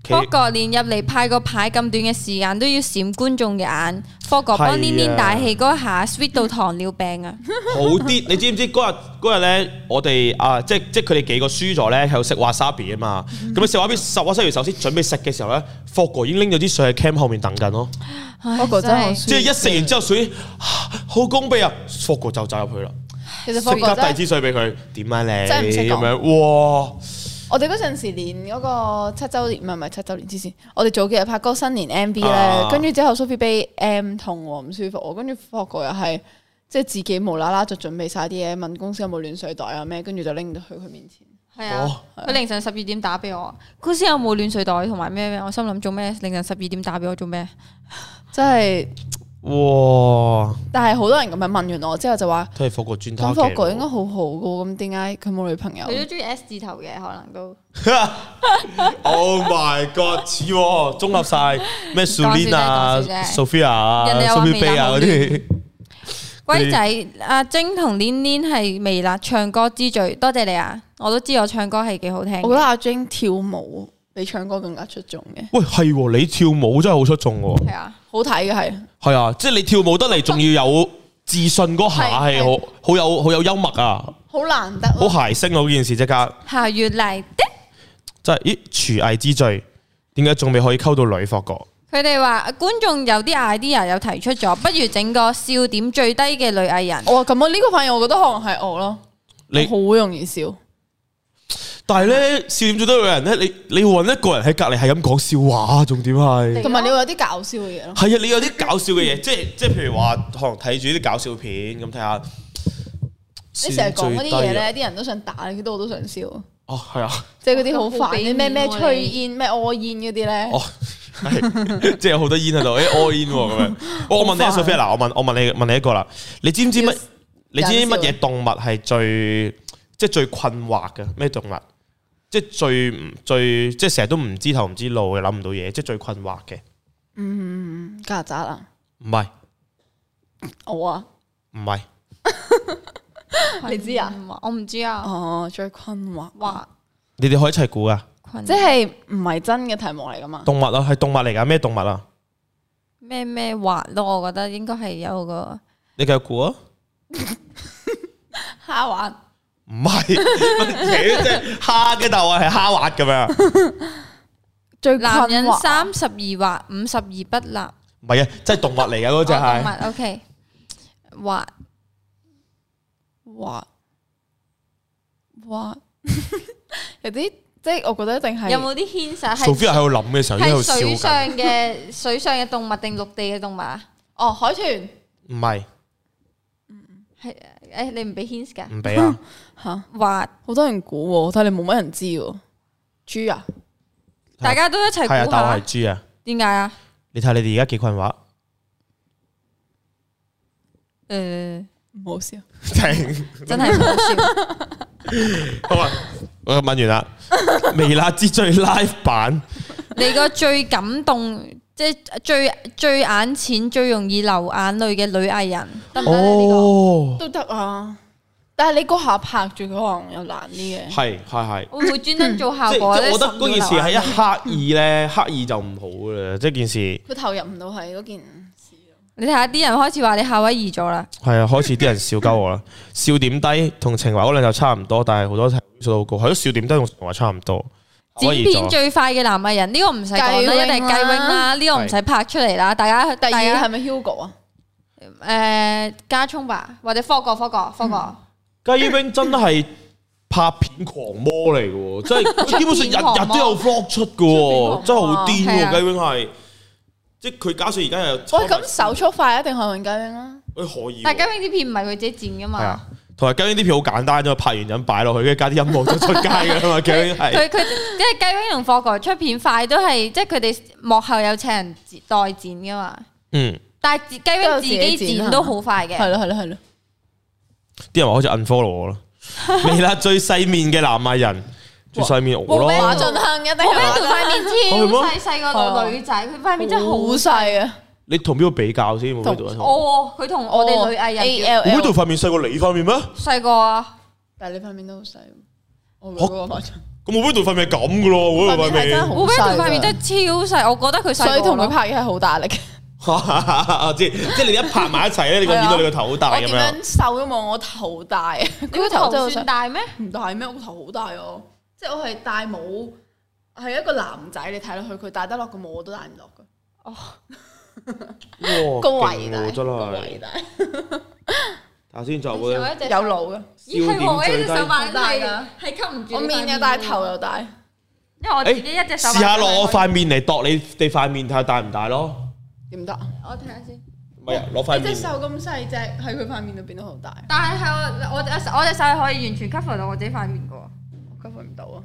霍哥連入嚟派個牌咁短嘅時間都要閃觀眾嘅眼，霍哥幫黏黏大氣嗰下 sweet 到糖尿病啊！ 好啲，你知唔知嗰日咧，我哋即係佢哋幾個輸咗咧，喺度食 wasabi 啊嘛。咁你食 wasabi 首先準備食嘅時候咧，霍哥已經拎咗啲水喺 cam 後面等緊咯。 霍哥真係， 即係一食完之後水好攻鼻啊，霍哥就走入去啦。 其實霍哥即刻遞支水俾佢，點啊你？ 真係唔識講咁樣，哇！ 我哋嗰陣時連嗰個7週年，唔係7週年之前，我哋早幾日拍嗰個新年 MV 咧，跟住之後 Sophie 俾 M 痛唔舒服，跟住霍哥又係即係自己無啦啦就準備晒啲嘢，問公司有冇暖水袋啊咩，跟住就拎到去佢面前。 係啊，佢凌晨12點打俾我，公司有冇暖水袋同埋咩？我心諗做咩？凌晨12點打俾我做咩？ 真係哇！ 但係好多人咁樣問完我之後就話， 都係霍哥專登咁霍哥應該好好噶，咁點解佢冇女朋友？ 佢都中意 S 字頭嘅，可能都。 Oh my god！似喎，綜合晒咩 Sulin 啊、Sophia 啊、Sophie Bay 啊嗰啲。 龜仔阿晶同黏黏係微辣唱歌之最，多謝你啊！我都知我唱歌係幾好聽。 我覺得阿晶跳舞比唱歌更加出眾嘅。 喂，係喎，你跳舞真係好出眾喎。 係啊， 好睇嘅係。 係啊，即係你跳舞得嚟，仲要有自信嗰下係好有幽默啊！ 好難得。 好諧星嗰件事即刻。 下月嚟的。 即係咦，廚藝之最，點解仲未可以溝到女霍哥？ 佢哋話觀眾有啲 idea 有提出咗，不如整個笑點最低嘅女藝人。 哇，咁我呢個反而我覺得可能係我咯，你好容易笑。 但係咧，笑點最低嘅女人咧，你要揾一個人喺隔離係咁講笑話，重點係同埋你會有啲搞笑嘅嘢咯。 係啊，你有啲搞笑嘅嘢，即係譬如話，可能睇住啲搞笑片咁睇下。 你成日講嗰啲嘢咧，啲人都想打你，我都想笑。 哦，係啊， 即係嗰啲好煩嘅咩吹煙、咩屙煙嗰啲咧。 哦，即係有好多煙喺度，屙煙咁樣。我問你啊，Sophia，嗱，我問你一個啦，你知唔知乜嘢動物係最困惑嘅？咩動物？即係最即係成日都唔知頭唔知路嘅，諗唔到嘢，即係最困惑嘅。 曱甴啊？ 唔係， 我啊？ 唔係。 你知啊？ 我唔知啊。 哦，最困惑。 你哋可以一齊估啊！ 即係唔係真嘅題目嚟噶嘛？ 動物啊，係動物嚟噶，咩動物啊？ 咩滑咯？我覺得應該係有個。 你繼續估啊！ 蝦滑。 唔係，即係蝦嘅頭啊，係蝦滑咁樣。 最男人32滑，52不立。 唔係啊，即係動物嚟嘅嗰隻係。 動物 OK， 滑。 有啲即係我覺得一定係有冇啲牽涉？ Sophia 喺度諗嘅時候，喺度笑緊。水上嘅動物定陸地嘅動物啊？ 哦，海豚。 唔係。 係誒，你唔俾 hint 㗎？ 唔俾啊！ 吓， 滑， 好多人估，但係你冇乜人知喎。豬啊！ 大家都一齊估下。 係啊，但我係豬啊。點解啊？ 你睇你哋而家幾困惑？ 唔好笑， 真係唔好笑。 好啊，我問完啦。微辣之最 live 版， 你個最感動，即係最眼淺、最容易流眼淚嘅女藝人，得唔得咧？呢個都得啊。但係你嗰下拍住佢，可能又難啲嘅。 係。 會唔會專登做效果咧？ 我覺得嗰件事係一刻意咧，刻意就唔好啦。即係件事， 佢投入唔到係嗰件。 你睇下啲人開始話你夏威夷咗啦， 係啊，開始啲人笑鳩我啦。笑點低同情懷嗰兩就差唔多，但係好多數都好高。係咯，笑點低同情懷差唔多。 剪片最快嘅男藝人呢個唔使講啦，一定係雞 wing 啦，呢個唔使拍出嚟啦。大家第二係咪 Hugo 啊？ 加聰吧，或者科哥。 雞 wing 真係拍片狂魔嚟嘅喎，即係基本上日日都有 vlog 出嘅喎，真係好癲喎！雞 wing 係。即係佢加上而家又喂，咁手速快一定係揾雞 wing 啦。 可以。 但係雞 wing 啲片唔係佢自己剪噶嘛。係啊， 同埋雞 wing 啲片好簡單啫，拍完人擺落去，跟住加啲音樂就出街噶嘛。雞 wing 係佢因為雞 wing 同霍哥出片快都係，即係佢哋幕後有請人代剪噶嘛。但係雞 wing 自己剪都好快嘅。 係咯。 啲人話好似 unfollow 我咯。微辣最細面嘅男藝人。最細面我咯， 馬俊亨一定係馬俊亨塊面超細個女仔，佢塊面真係好細啊！ 你同邊個比較先？ 佢同我哋女藝人 AL， 我呢度塊面細過你塊面咩？ 細個啊， 但係你塊面都好細。我嗰個馬俊， 咁胡飛度塊面咁嘅咯，胡飛度塊面。 胡飛度塊面真係超細，我覺得佢細。 所以同佢拍嘢係好大力。 我知，即係你一拍埋一齊咧，你見到你個頭好大咁樣。 我點樣瘦都冇我頭大。佢個頭真係算大咩？ 唔大咩？我個頭好大哦。即係我係戴帽，係一個男仔，你睇落去佢戴得落個帽我都戴唔落㗎。哦。 哇！ 個圍大， 真係。頭先就會有腦嘅。 咦係我一隻手板係吸唔住。 我面又大，頭又大。 因為我自己一隻手。 試下攞我塊面嚟度你哋塊面睇下大唔大咯。 點得？ 我睇下先。 唔係啊，攞塊面。 你隻手咁細隻，喺佢塊面度變到好大。 但係我隻手係可以完全 cover 到我自己塊面嘅喎。 cover 唔到啊！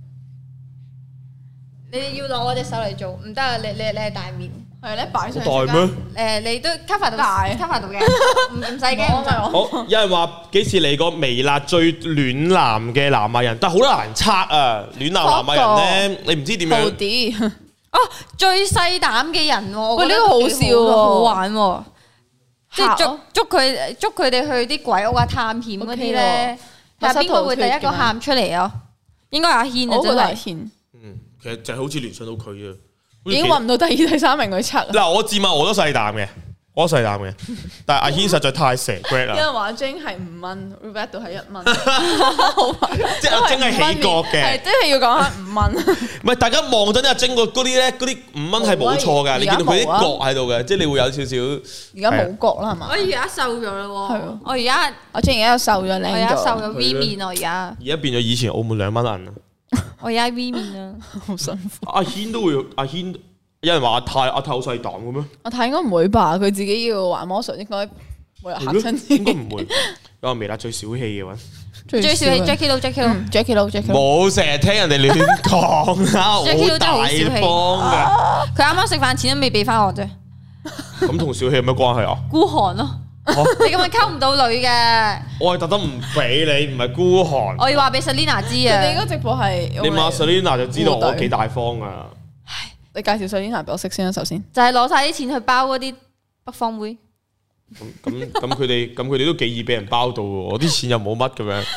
你要攞我隻手嚟做，唔得啊！你係大面。 係咧，擺上大咩？ 你都 cover 到，cover 到嘅，唔使驚。 好，有人話幾時嚟個微辣最暖男嘅南亞人，但係好難測啊！暖男南亞人咧，你唔知點樣。 哦，最細膽嘅人喎， 喂，呢個好笑喎， 好玩喎，即係捉佢哋去啲鬼屋啊、探險嗰啲咧，係邊個會第一個喊出嚟啊？應該阿軒啊，真係。 其實就係好似聯想到佢啊。 已經揾唔到第二、第三名去測。 嗱，我自問我都細膽嘅，但係阿軒實在太蛇 great 啦。 有人話阿 Jing 係5蚊 ，Rebecca 度係1蚊， 即係阿 Jing 係起角嘅， 係真係要講下5蚊。 唔係大家望緊阿 Jing 嗰啲咧，嗰啲5蚊係冇錯㗎，你見到佢啲角喺度嘅，即係你會有少少。 而家冇角啦，係嘛？ 我而家瘦咗啦喎， 係我而家阿 Jing 而家又瘦咗靚咗， 我而家瘦咗 V 面啊，而家變咗以前澳門2蚊銀啊！ 我而家 V 面啊， 好辛苦。 阿軒都會，阿軒有人話阿泰好細膽嘅咩？ 阿泰應該唔會吧？佢自己要玩魔術，應該冇人嚇親自己。 應該唔會。有人微辣最小氣嘅話， 最小氣 Jackie Lou 冇成日聽人哋亂講啦，好大方嘅。 佢啱啱食飯錢都未俾翻我啫。 咁同小氣有咩關係啊？ 孤寒咯。你咁樣溝唔到女嘅， 我係特登唔俾你，唔係孤寒。 我要話俾 Selina 知啊！ 你嗰個直播係你問 Selina 就知道我幾大方啊！ 你介紹 Selina 俾我識先啦，首先就係攞晒啲錢去包嗰啲北方妹。 咁佢哋都幾易俾人包到喎，我啲錢又冇乜咁樣。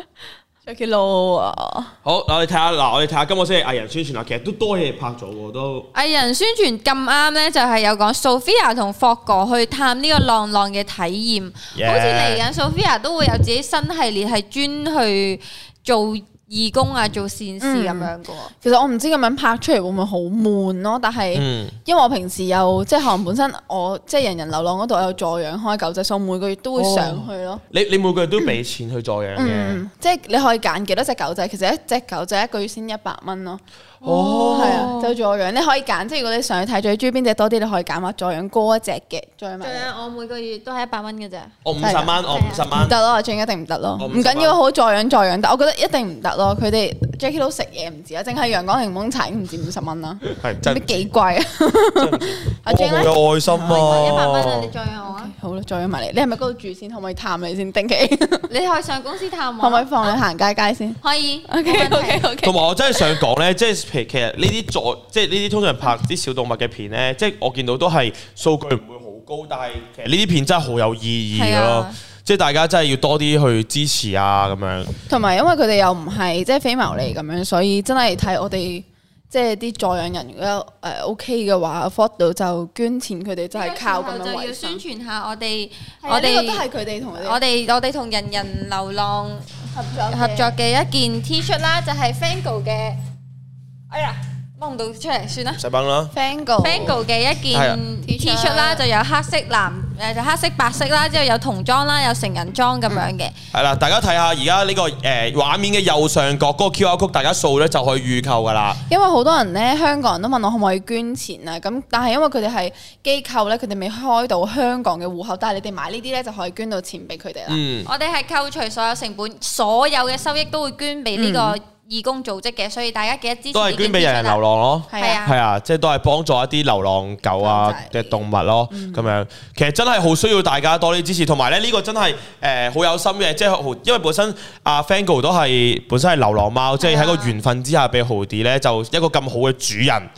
Jackie Lou 啊， 好，我哋睇下今個星期藝人宣傳啦，其實都多嘢拍咗喎，都。 藝人宣傳咁啱咧，就係有講 Sophia 同霍哥去探呢個浪浪嘅體驗，好似嚟緊 Sophia 都會有自己新系列係專去做義工啊，做善事咁樣嘅喎。 其實我唔知咁樣拍出嚟會唔會好悶咯，但係因為我平時有即係可能本身我即係人人流浪嗰度有助養開狗仔，所以我每個月都會上去咯。 你每個月都俾錢去助養嘅， 即係你可以揀幾多隻狗仔，其實一隻狗仔一個月先100蚊咯。係啊，就助養你可以揀，即係如果你上去睇最中意邊隻多啲，你可以揀話助養高一隻嘅，助養埋。 我每個月都係100蚊嘅啫。 我50蚊，我50蚊。 唔得咯，最一定唔得咯。唔緊要，好助養，但我覺得一定唔得咯。佢哋 Jackie 都食嘢唔止啊，淨係陽光檸檬茶已經唔止50蚊啦。係真係幾貴啊！阿 Jing 咧， 有愛心啊 ！100蚊啊，你助養我啊！ 好啦，助養埋你。你係咪嗰度住先？可唔可以探你先？定期你可以上公司探我。 可唔可以放你行街先？ 可以。 OK。 同埋我真係想講咧，即係其實呢啲即係呢啲通常拍啲小動物嘅片咧，即係我見到都係數據唔會好高，但係其實呢啲片真係好有意義咯。即係大家真係要多啲去支持啊咁樣。 同埋因為佢哋又唔係即係非牟利咁樣，所以真係睇我哋即係啲助養人如果OK 嘅話 afford 到就捐錢，佢哋就係靠咁樣維生。就要宣傳下我哋都係佢哋同我哋同人人流浪合作嘅一件 T 恤啦，就係 Fango 嘅。哎呀！幫唔到出嚟算啦， 細幫啦。 Fango 嘅一件 T 恤啦，就有黑色就黑色白色啦，之後有童裝啦，有成人裝咁樣嘅。 係啦，大家睇下而家呢個畫面嘅右上角嗰個 QR code，大家掃咧就可以預購噶啦。 因為好多人咧，香港人都問我可唔可以捐錢啊？咁但係因為佢哋係機構咧，佢哋未開到香港嘅戶口，但係你哋買呢啲咧就可以捐到錢俾佢哋啦。 我哋係扣除所有成本，所有嘅收益都會捐俾呢個義工組織嘅，所以大家記得支持。 都係捐俾人人流浪咯，係啊，即係都係幫助一啲流浪狗啊嘅動物咯，咁樣其實真係好需要大家多啲支持，同埋咧呢個真係好有心嘅，即係因為本身阿 Fango 都係本身係流浪貓，即係喺個緣分之下俾豪迪咧就一個咁好嘅主人。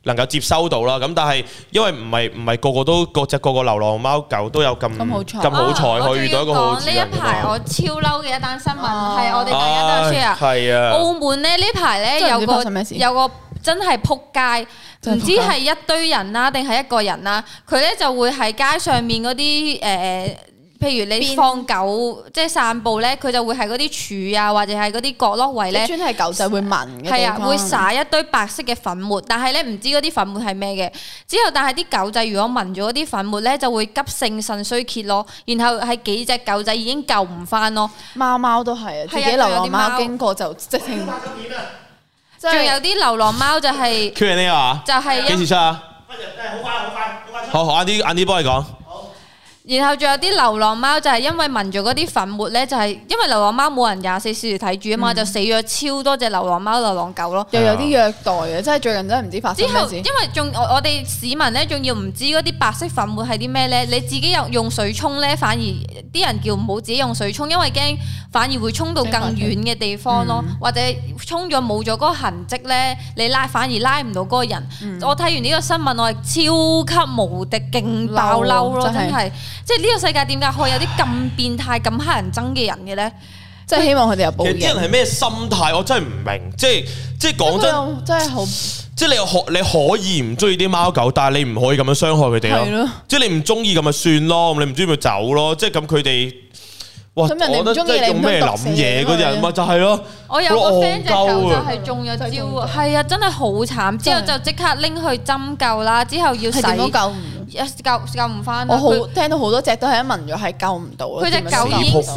能夠接收到啦。咁但係因為唔係個個流浪貓狗都有咁好彩可以遇到一個好主人。 呢一排我超嬲嘅一單新聞係我哋大家都有 share。係啊，澳門咧呢排咧有個真係撲街。唔知係一堆人啦，定係一個人啦，佢咧就會喺街上面嗰啲譬如你放狗即係散步咧，佢就會喺嗰啲柱啊，或者係嗰啲角落位咧， 專係狗仔會聞嘅地方。 係啊，會灑一堆白色嘅粉末，但係咧唔知嗰啲粉末係咩嘅。之後但係啲狗仔如果聞咗嗰啲粉末咧，就會急性腎衰竭咯。然後係幾隻狗仔已經救唔翻咯。 貓都係啊，自己流浪貓經過就即係。 仲有啲流浪貓就係 Q&A 啊， 就係幾時出啊？好，晏啲幫你講。 然後仲有啲流浪貓就係因為聞咗嗰啲粉末咧，就係因為流浪貓冇人24小時睇住啊嘛，就死咗超多隻流浪貓、流浪狗咯。 又有啲虐待嘅，真係最近真係唔知發生咩事。 之後因為仲我哋市民咧，仲要唔知嗰啲白色粉末係啲咩咧？你自己用水沖咧，反而啲人叫唔好自己用水沖，因為驚反而會沖到更遠嘅地方咯，或者沖咗冇咗嗰個痕跡咧，你反而拉唔到嗰個人。我睇完呢個新聞，我係超級無敵勁爆嬲咯，真係。即係呢個世界點解可以有啲咁變態、咁乞人憎嘅人嘅咧？ 即係希望佢哋有報應。 其實啲人係咩心態？我真係唔明。即係講真， 真係好。 即係你可以唔中意啲貓狗，但係你唔可以咁樣傷害佢哋咯。即係你唔中意咁咪算咯，你唔中意咪走咯。即係咁佢哋。哇！ 咁人哋唔中意你用咩諗嘢嗰啲人咪就係咯。 我有個 friend 隻狗就係中咗招啊，係啊，真係好慘。之後就即刻拎去針灸啦，之後要洗點都救唔翻。我好聽到好多隻都係一聞咗係救唔到。佢隻狗已經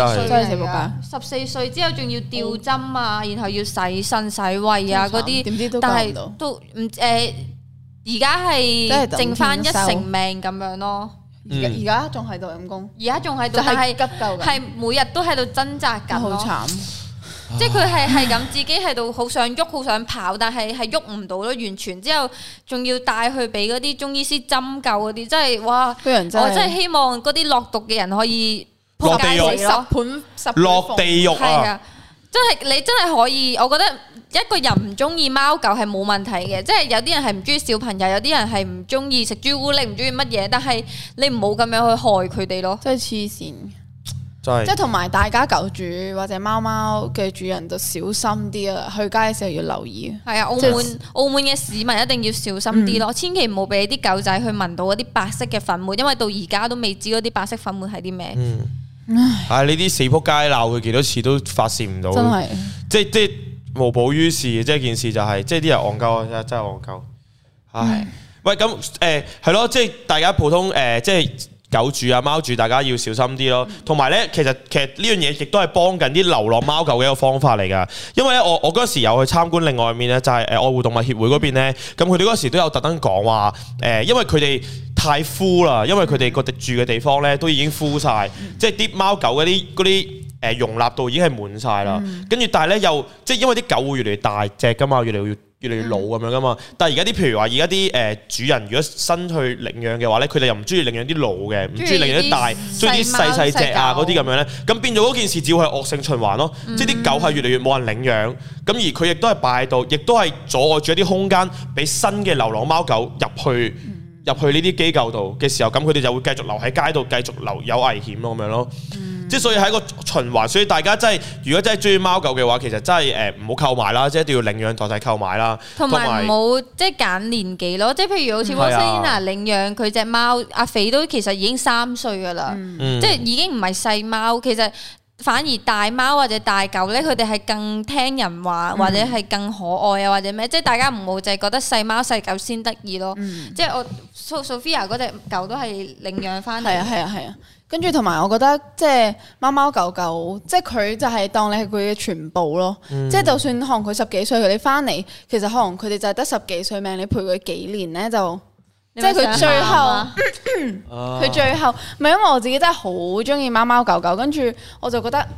14 歲之後仲要吊針啊，然後要洗腎洗胃啊嗰啲，但係都唔而家係剩翻1成命咁樣咯。 而家仲喺度陰公， 而家仲喺度，但係急救係每日都喺度掙扎緊咯。 好慘！ 即係佢係咁自己喺度好想喐，好想跑，但係喐唔到咯，完全。之後仲要帶去俾嗰啲中醫師針灸嗰啲，真係哇！我真係希望嗰啲落毒嘅人可以落地獄落地獄啊！ 真係你真係可以，我覺得一個人唔中意貓狗係冇問題嘅，即係有啲人係唔中意小朋友，有啲人係唔中意食朱古力，唔中意乜嘢，但係你唔好咁樣去害佢哋咯。 真係黐線，即係同埋大家狗主或者貓貓嘅主人就小心啲啊！去街嘅時候要留意。係啊， 澳門嘅市民一定要小心啲咯，千祈唔好俾啲狗仔去聞到嗰啲白色嘅粉末，因為到而家都未知嗰啲白色粉末係啲咩。 呢啲死仆街鬧佢幾多次都發泄唔到，真係即係無補於事，即係件事就係即係啲人戇鳩啊，真係戇鳩。唉，喂咁係咯，即係大家普通即係狗主啊貓主，大家要小心啲咯。同埋咧，其實呢樣嘢亦都係幫緊啲流浪貓狗嘅一個方法嚟㗎。因為咧，我嗰時有去參觀另外一面咧，就係愛護動物協會嗰邊咧，咁佢哋嗰時都有特登講話因為佢哋太枯啦，因為佢哋個住嘅地方咧都已經枯晒，即係啲貓狗嗰啲容納度已經係滿晒啦。跟住但係咧又即係因為啲狗會越嚟越大隻㗎嘛，越嚟越老咁樣㗎嘛。但係而家啲譬如話而家啲主人如果新去領養嘅話咧，佢哋又唔中意領養啲老嘅，唔中意領養啲大，中意啲細隻啊嗰啲咁樣咧，咁變咗嗰件事只會係惡性循環咯。即係啲狗係越嚟越冇人領養，咁而佢亦都係擺喺度，亦都係阻礙住一啲空間俾新嘅流浪貓狗入去呢啲機構度嘅時候，咁佢哋就會繼續留喺街度，繼續留有危險咯咁樣咯。即係所以係一個循環，所以大家真係如果真係中意貓狗嘅話，其實真係唔好購買啦，即係一定要領養代替購買啦。 同埋唔好即係揀年紀咯，即係譬如好似摩西娜領養佢隻貓，阿肥都其實已經3歲㗎啦，即係已經唔係細貓，其實。反而大貓或者大狗咧，佢哋係更聽人話，或者係更可愛啊，或者咩？即係大家唔好淨係覺得細貓細狗先得意咯。即係我 Sophia 嗰隻狗都係領養翻嚟。 係啊。跟住同埋我覺得即係貓貓狗狗，即係佢就係當你係佢嘅全部咯。即係就算可能佢10幾歲，佢哋翻嚟，其實可能佢哋就係得10幾歲命，你陪佢幾年咧就。即係佢最後，佢最後，唔係因為我自己真係好中意貓貓狗狗，跟住我就覺得，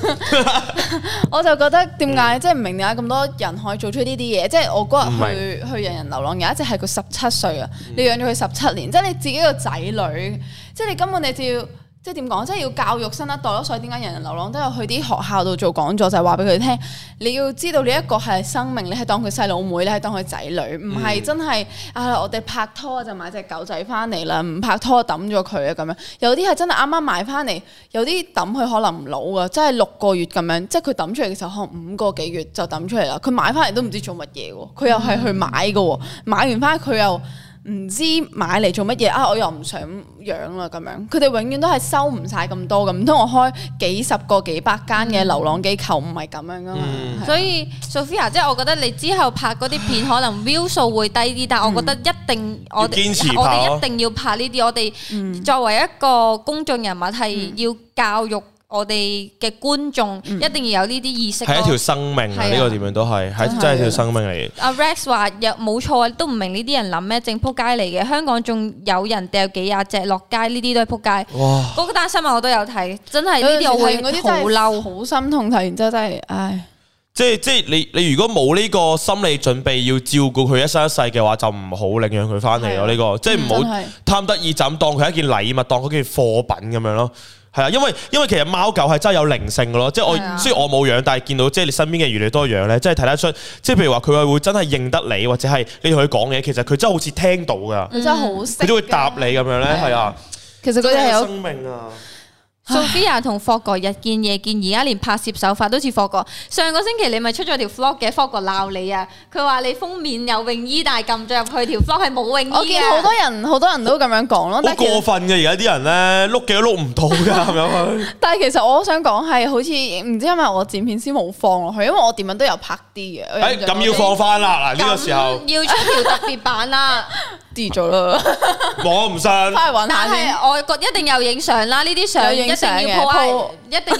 點解即係唔明點解咁多人可以做出呢啲嘢？即係我嗰日去人人流浪，有一隻係佢17歲啊，你養咗佢17年，即係你自己個仔女，即係你根本你就要。 即係點講？即係要教育新一代咯，所以點解人人流浪都有去啲學校度做講座，就係話俾佢聽，你要知道呢一個係生命，你係當佢細佬妹，你係當佢仔女，唔係真係我哋拍拖就買隻狗仔翻嚟啦，唔拍拖抌咗佢啊咁樣。有啲係真係啱啱買翻嚟，有啲抌佢可能唔老噶，真係6個月咁樣，即係佢抌出嚟嘅時候可能5個幾月就抌出嚟啦。佢買翻嚟都唔知做乜嘢喎，佢又係去買嘅喎，買完翻佢又唔知買嚟做乜嘢我又唔想養啦咁樣，佢哋永遠都係收唔晒咁多咁，唔通我開幾十個幾百間嘅流浪機構唔係咁樣噶嘛？ 所以 Sophia 即係我覺得你之後拍嗰啲片可能 view 數會低啲，但係我覺得一定我哋一定要拍呢啲，我哋作為一個公眾人物係要教育我哋嘅觀眾一定要有呢啲意識。 係一條生命啊！呢個點樣都係真係條生命嚟。 阿 Rex 話冇錯啊，都唔明呢啲人諗咩，正撲街嚟嘅。香港仲有人掉幾廿隻落街，呢啲都係撲街。哇！嗰單新聞我都有睇，真係呢啲我會好嬲， 好心痛睇完之後真係唉。 即係你如果冇呢個心理準備要照顧佢一生一世嘅話，就唔好領養佢翻嚟咯。呢個即係唔好貪得意就咁當佢一件禮物，當佢件貨品咁樣咯。係啊，因為其實貓狗係真係有靈性嘅咯，即係我雖然我冇養，但係見到即係你身邊嘅越嚟越多養咧，即係睇得出，即係譬如話佢會真係認得你，或者係你同佢講嘢，其實佢真係好似聽到㗎， 佢真係好識， 佢都會答你咁樣咧，係啊， 其實佢哋係有生命啊。 Sophia 同霍哥日見夜見，而家連拍攝手法都似霍哥。上個星期你咪出咗條 vlog 嘅，霍哥鬧你啊！佢話你封面有泳衣，但係撳咗入去條 vlog 係冇泳衣。 我見好多人都咁樣講咯。 好過分嘅，而家啲人咧碌幾都碌唔到㗎咁樣。 但係其實我想講係好似唔知因為我剪片先冇放落去，因為我點樣都有拍啲嘅。 咁要放翻啦！嗱呢個時候要出條特別版啦。 跌咗啦， 我唔信。 翻去揾下先。 但係我覺一定有影相啦，呢啲相一定要 po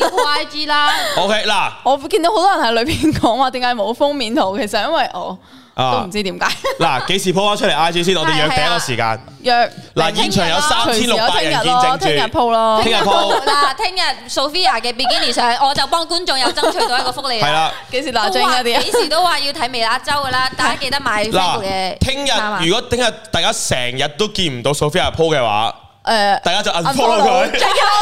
，IG 啦。 OK 嗱， 我見到好多人喺裏邊講話點解冇封面圖，其實因為我都唔知點解。 嗱，幾時 po 翻出嚟 IG 先？我哋約第一個時間。 約嗱，現場有3600人見證住。 聽日 po 咯。 聽日 po 嗱，聽日 Sophia 嘅 Bikini 相，我就幫觀眾有爭取到一個福利。 係啦， 幾時拿獎嗰啲？ 幾時都話要睇微辣周噶啦，大家記得買 Facebook 嘅。 聽日如果聽日大家成日都見唔到 Sophia po 嘅話，大家就 unfollow 佢，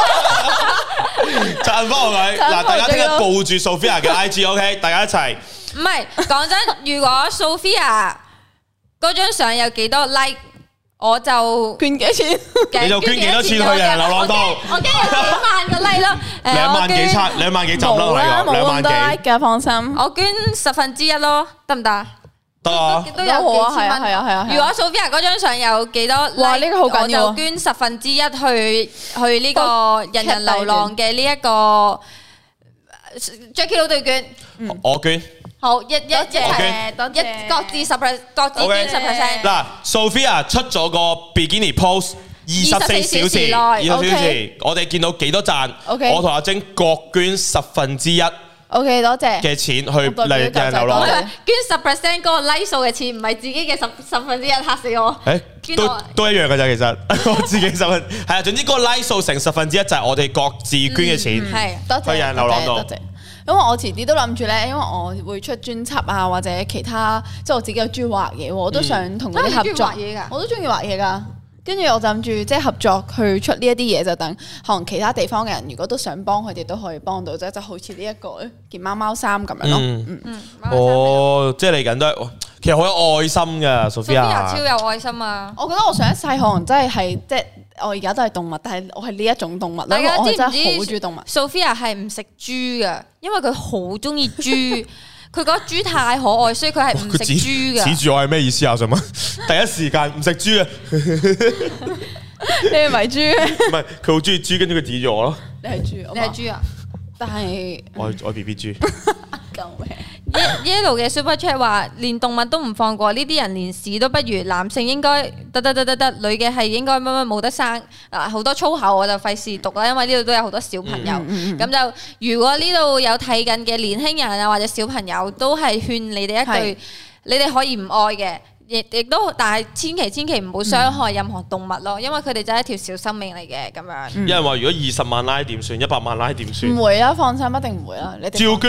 就 unfollow 佢。嗱，大家聽日報住 Sophia 嘅 IG，OK， 大家一齊。 唔係講真，如果 Sophia 嗰張相有幾多 like， 我就捐幾錢？ 你就捐幾多錢去人流浪度？ 我驚有2萬個 like 咯 ，2萬幾餐，2萬幾集啦，我講2萬幾嘅，放心。 我捐1/10咯，得唔得？ 得啊， 都有幾千蚊。 係啊。 如果 Sophia 嗰張相有幾多 like， 哇，呢個好緊要， 我就捐1/10去呢個人人流浪嘅呢一個 Jacky 佬對券。 我捐。 好，一各自10%，各自捐10%。 嗱 ，Sophia 出咗個 Bikini post 24小時，我哋見到幾多讚，我同阿晶各捐1/10。 OK， 多謝嘅錢去嚟人流浪。 捐10%嗰個 like 數嘅錢，唔係自己嘅1/10，嚇死我。 都一樣嘅咋，其實我自己10%係啊，總之嗰個 like 數成1/10就係我哋各自捐嘅錢，去人流浪度。 因為我遲啲都諗住咧，因為我會出專輯啊，或者其他，即係我自己有中意畫嘢，我都想同佢哋合作。我都中意畫嘢㗎。跟住我就諗住即係合作去出呢一啲嘢，就等可能其他地方嘅人如果都想幫佢哋都可以幫到，就好似呢一個件貓貓衫咁樣咯。即係嚟緊都係，其實好有愛心㗎 Sophia 超有愛心啊！ 我覺得我上一世可能真係即係我而家都係動物，但係我係呢一種動物啦。 大家知唔知我真係好中意動物。 Sophia 係唔食豬㗎，因為佢好中意豬。佢覺得豬太可愛，所以佢係唔食豬嘅。 指住我係咩意思啊？我想問，第一時間唔食豬啊！ 你係咪豬？ 唔係，佢好中意豬，跟住佢指住我咯。 你係豬啊？但係我 BB 豬。 救命 ！Yellow 嘅 Super Chat 話，連動物都唔放過，呢啲人連屎都不如。男性應該得，女嘅係應該乜冇得生。好多粗口我就費事讀啦，因為呢度都有好多小朋友。咁就如果呢度有睇緊嘅年輕人啊或者小朋友，都係勸你哋一句，你哋可以唔愛嘅，亦都但係千祈唔好傷害任何動物咯，因為佢哋就係一條小生命嚟嘅咁樣。 有人話如果20萬拉點算，100萬拉點算？ 唔會啊，放心，一定唔會啊。你照捐。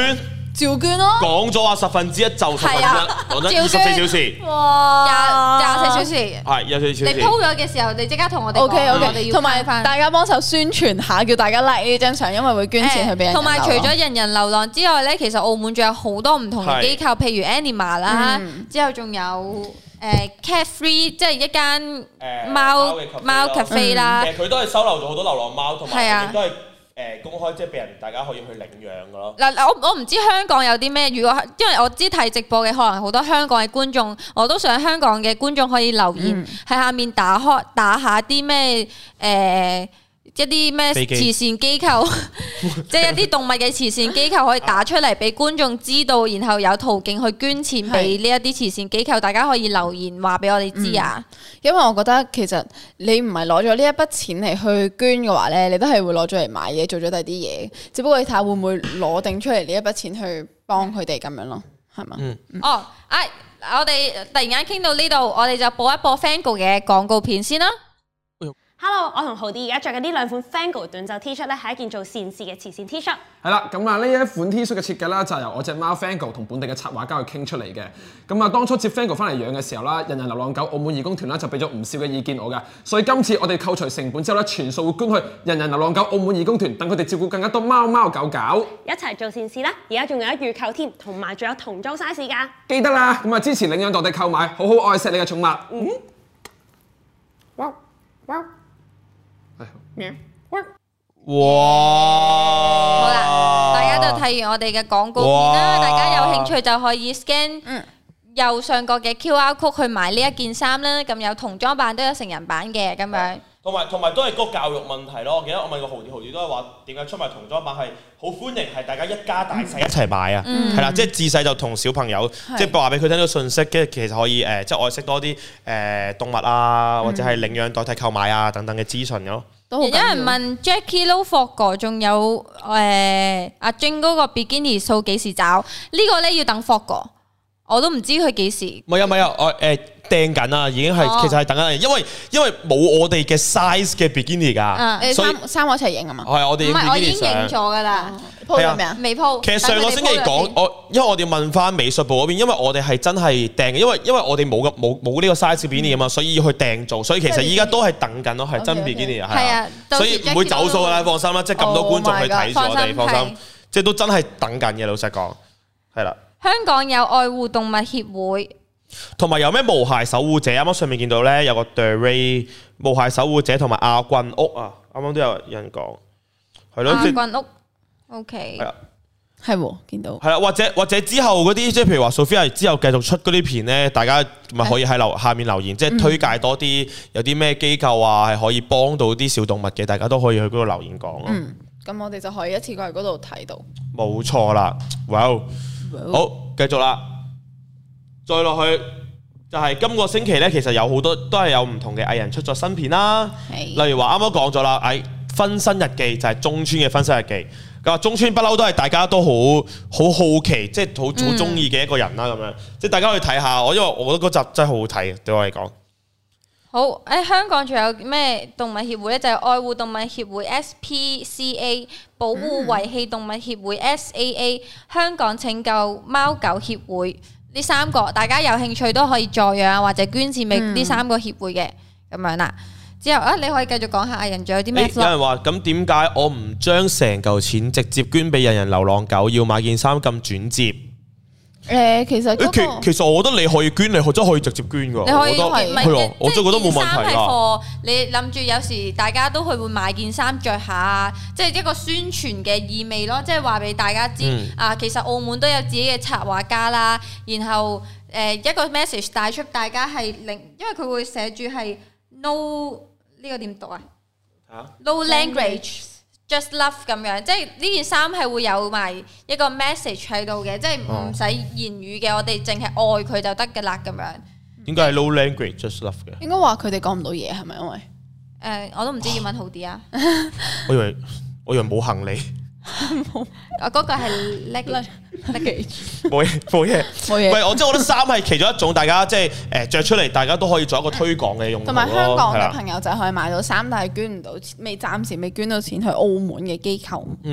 照捐咯。 講咗話1/10就1/10，講真24小時， 哇，24小時， 係24小時。 你 po 咗嘅時候，你即刻同我哋講 OK， 同埋大家幫手宣傳下，叫大家 like 呢張相，因為會捐錢去俾人。 同埋除咗人人流浪之外咧，其實澳門仲有好多唔同嘅機構，譬如 Anima 啦，之後仲有。Cat Free 即係一間貓 cafe 啦， 佢都係收留咗好多流浪貓，同埋亦都係公開，即係俾人大家可以去領養噶咯。嗱， 我唔知香港有啲咩，如果因為我知睇直播嘅可能好多香港嘅觀眾，我都想香港嘅觀眾可以留言喺下面打下啲咩一啲咩慈善機構，即係一啲動物嘅慈善機構可以打出嚟俾觀眾知道，然後有途徑去捐錢俾呢一啲慈善機構，大家可以留言話俾我哋知啊。 因為我覺得其實你唔係攞咗呢一筆錢嚟去捐嘅話咧，你都係會攞咗嚟買嘢，做咗第二啲嘢。只不過你睇下會唔會攞定出嚟呢一筆錢去幫佢哋咁樣咯，係嘛？ 我哋突然間傾到呢度，我哋就播一播 Fango 嘅廣告片先啦。 Hello， 我同豪啲而家着緊呢兩款 Fango 短袖 T 恤咧，係一件做善事嘅慈善 T 恤。 係啦，咁啊呢一款 T 恤嘅設計啦，就係由我隻貓 Fango 同本地嘅插畫家去傾出嚟嘅。咁啊，當初接 Fango 翻嚟養嘅時候啦，人人流浪狗澳門義工團啦就俾咗唔少嘅意見我㗎，所以今次我哋扣除成本之後咧，全數會捐去人人流浪狗澳門義工團，等佢哋照顧更加多貓貓狗狗， 一齊做善事啦！而家仲有預購添，同埋仲有童裝 size 㗎。記得啦，咁啊支持領養代替購買，好好愛錫你嘅寵物。 哇！ 好啦，大家就睇完我哋嘅廣告片啦，大家有興趣就可以 scan 右上角嘅 QR code 去買呢一件衫啦。咁有童裝版都有成人版嘅咁樣。 同埋都係嗰個教育問題咯。我記得我問過豪啲都係話點解出埋童裝版係好歡迎，係大家一家大細一齊買啊，係啦，即係自細就同小朋友即係話俾佢聽到信息，跟住其實可以即係愛惜多啲動物啊，或者係領養代替購買啊等等嘅資訊咯。 有人問 Jackie Lou Forgo 仲有阿 Jing 嗰個 Bikini 數幾時找？呢個咧要等 Forgo，我都唔知佢幾時。唔係啊，我訂緊啊，已經係其實係等緊，因為冇我哋嘅 size 嘅 Bikini 㗎，所以三個一齊影啊嘛。 係我哋唔係我已經影咗㗎啦。 鋪咗未啊？ 未鋪。 其實上個星期講因為我哋問翻美術部嗰邊，因為我哋係真係訂嘅，因為我哋冇呢個 size Bikini 啊嘛，所以要去訂做，所以其實依家都係等緊咯，係真 Bikini 係啊，所以唔會走數㗎啦，放心啦，即係咁多觀眾去睇住我哋，放心，即係都真係等緊嘅，老實講，係啦。 香港有愛護動物協會， 同埋有咩無骸守護者？啱啱上面見到咧有個 The Ray 無骸守護者同埋亞郡屋啊，啱啱都有人講，係咯， 亞郡屋 OK， 係啊， 係喎，見到係啦，或者之後嗰啲即係譬如話 Sophia 之後繼續出嗰啲片咧，大家咪可以喺下面留言，即係推介多啲有啲咩機構啊係可以幫到啲小動物嘅，大家都可以去嗰度留言講咯。 咁我哋就可以一次過去嗰度睇到。 冇錯啦，哇！好，繼續啦，再落去就係今個星期咧，其實有好多都係有唔同嘅藝人出咗新片啦。例如話啱啱講咗啦，分身日記就係中村嘅分身日記。咁啊，中村不嬲都係大家都好好奇，即係好中意嘅一個人啦。咁樣即係大家去睇下，因為我覺得嗰集真係好好睇，對我嚟講。 好，香港仲有咩動物協會咧？就係愛護動物協會 SPCA、保護遺棄動物協會 SAA、香港拯救貓狗協會呢三個，大家有興趣都可以助養或者捐錢俾呢三個協會嘅咁樣啦。之後你可以繼續講下藝人仲有啲咩？ 有人話咁點解我唔將成嚿錢直接捐俾人人流浪狗，要買件衫咁轉接？ 其實我覺得你可以捐，你真係可以直接捐㗎。 你可以係我真係覺得冇問題㗎。 你諗住有時大家都會買件衫着下，即係一個宣傳嘅意味咯，即係話俾大家知其實澳門都有自己嘅插畫家啦。然後一個 message 帶出大家係因為佢會寫住係 no 呢個點讀啊？No language。Just love 咁樣，即係呢件衫係會有埋一個 message 喺度嘅，即係唔使言語嘅，我哋淨係愛佢就得㗎啦咁樣。 點解係 no language just love 嘅？ 應該話佢哋講唔到嘢係咪？因為我都唔知英文好啲啊。 我以為冇行李。 嗰個係 luggage， 冇嘢。唔係我即係我覺得衫係其中一種，大家即係着出嚟，大家都可以做一個推廣嘅用途。 同埋香港嘅朋友就可以買到衫，但係捐唔到錢，暫時未捐到錢去澳門嘅機構。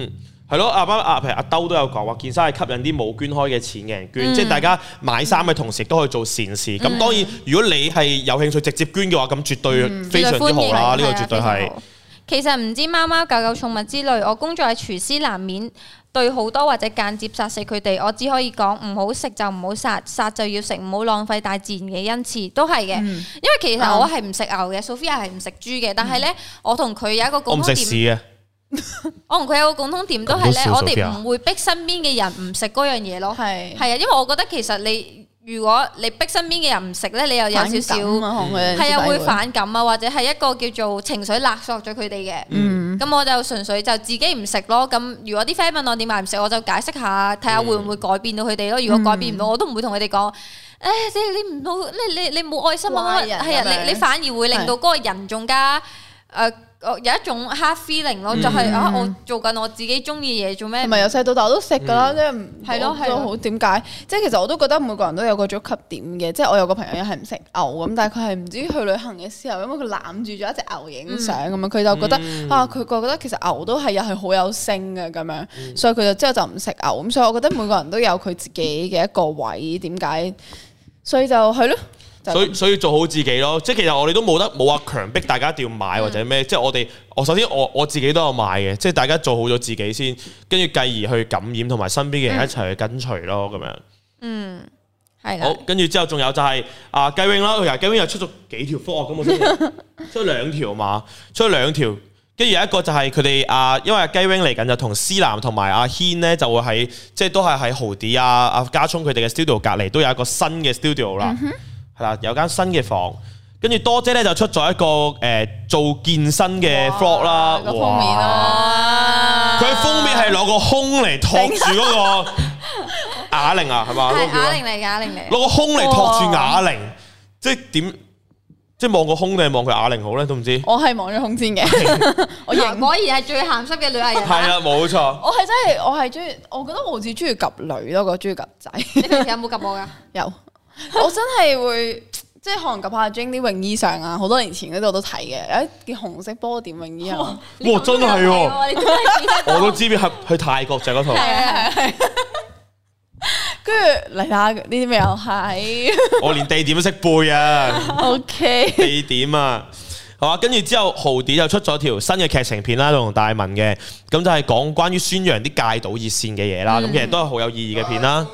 係咯，譬如阿兜都有講話，件衫係吸引啲冇捐開嘅錢嘅人捐，即係大家買衫嘅同時都可以做善事。咁當然，如果你係有興趣直接捐嘅話，咁絕對非常之好啦。呢個絕對係。 其實唔知貓貓狗狗寵物之類，我工作係廚師，難免對好多或者間接殺死佢哋。我只可以講唔好食就唔好殺，殺就要食，唔好浪費大自然嘅恩賜，都係嘅。因為其實我係唔食牛嘅，Sophia 係唔食豬嘅，但係咧我同佢有一個共通點。我唔食屎嘅。我同佢有個共通點都係咧，我哋唔會逼身邊嘅人唔食嗰樣嘢咯。係啊，因為我覺得其實你如果你逼身邊嘅人唔食咧，你又有少少係啊會反感啊，或者係一個叫做情緒勒索咗佢哋嘅。咁我就純粹就自己唔食咯。咁如果啲 friend 問我點解唔食，我就解釋下，睇下會唔會改變到佢哋咯。如果改變唔到，我都唔會同佢哋講。你唔好，你冇愛心啊！係啊，你反而會令到嗰個人仲加有一種 hard feeling 咯，就係我做緊我自己中意嘢做咩？唔係由細到大我都食㗎啦，即係係咯係咯好點解？即係其實我都覺得每個人都有個觸及點嘅，即係我有個朋友又係唔食牛咁，但係佢係唔知去旅行嘅時候，因為佢攬住咗一隻牛影相咁樣，佢就覺得佢覺得其實牛都係又係好有性嘅咁樣，所以佢就之後就唔食牛咁，所以我覺得每個人都有佢自己嘅一個位點解，所以就係咯。 所以做好自己咯，即係其實我哋都冇話強迫大家一定要買或者咩，即係我首先我自己都有買嘅，即係大家做好咗自己先，跟住繼而去感染同埋身邊嘅人一齊去跟隨咯，咁樣。係好，跟住之後仲有就係雞 wing 啦，佢雞 wing 又出咗幾條科啊，咁我先出咗2條嘛，出咗2條，跟住有一個就係佢哋因為雞 wing 嚟緊就同思南同埋阿軒咧就會喺即係都係喺豪啲阿家聰佢哋嘅 studio 隔離都有一個新嘅 studio 啦。係啦，有間新嘅房，跟住多姐咧就出咗一個做健身嘅 vlog 啦， 個封面啊！ 佢封面係攞個胸嚟托住嗰個啞鈴啊，係嘛？ 係啞鈴嚟， 攞個胸嚟托住啞鈴，即係點？即係望個胸定係望佢啞鈴好咧？都唔知。 我係望咗胸先嘅，我認果然係最鹹濕嘅女藝人。 係啊，冇錯。 我係中意，我覺得我好似中意及女多過中意及仔。 你平時有冇及我㗎？ 有。我真係會即係可能及下 Jane 啲泳衣上啊，好多年前嗰度我都睇嘅，有一件紅色波點泳衣啊！ 哇，真係喎！我都知邊去泰國就嗰套。係。 跟住嚟下呢啲咩又係？ 我連地點都識背啊 ！OK。 地點啊，係嘛？跟住之後豪啲就出咗條新嘅劇情片啦，同大文嘅，咁就係講關於宣揚啲戒賭熱線嘅嘢啦。咁其實都係好有意義嘅片啦。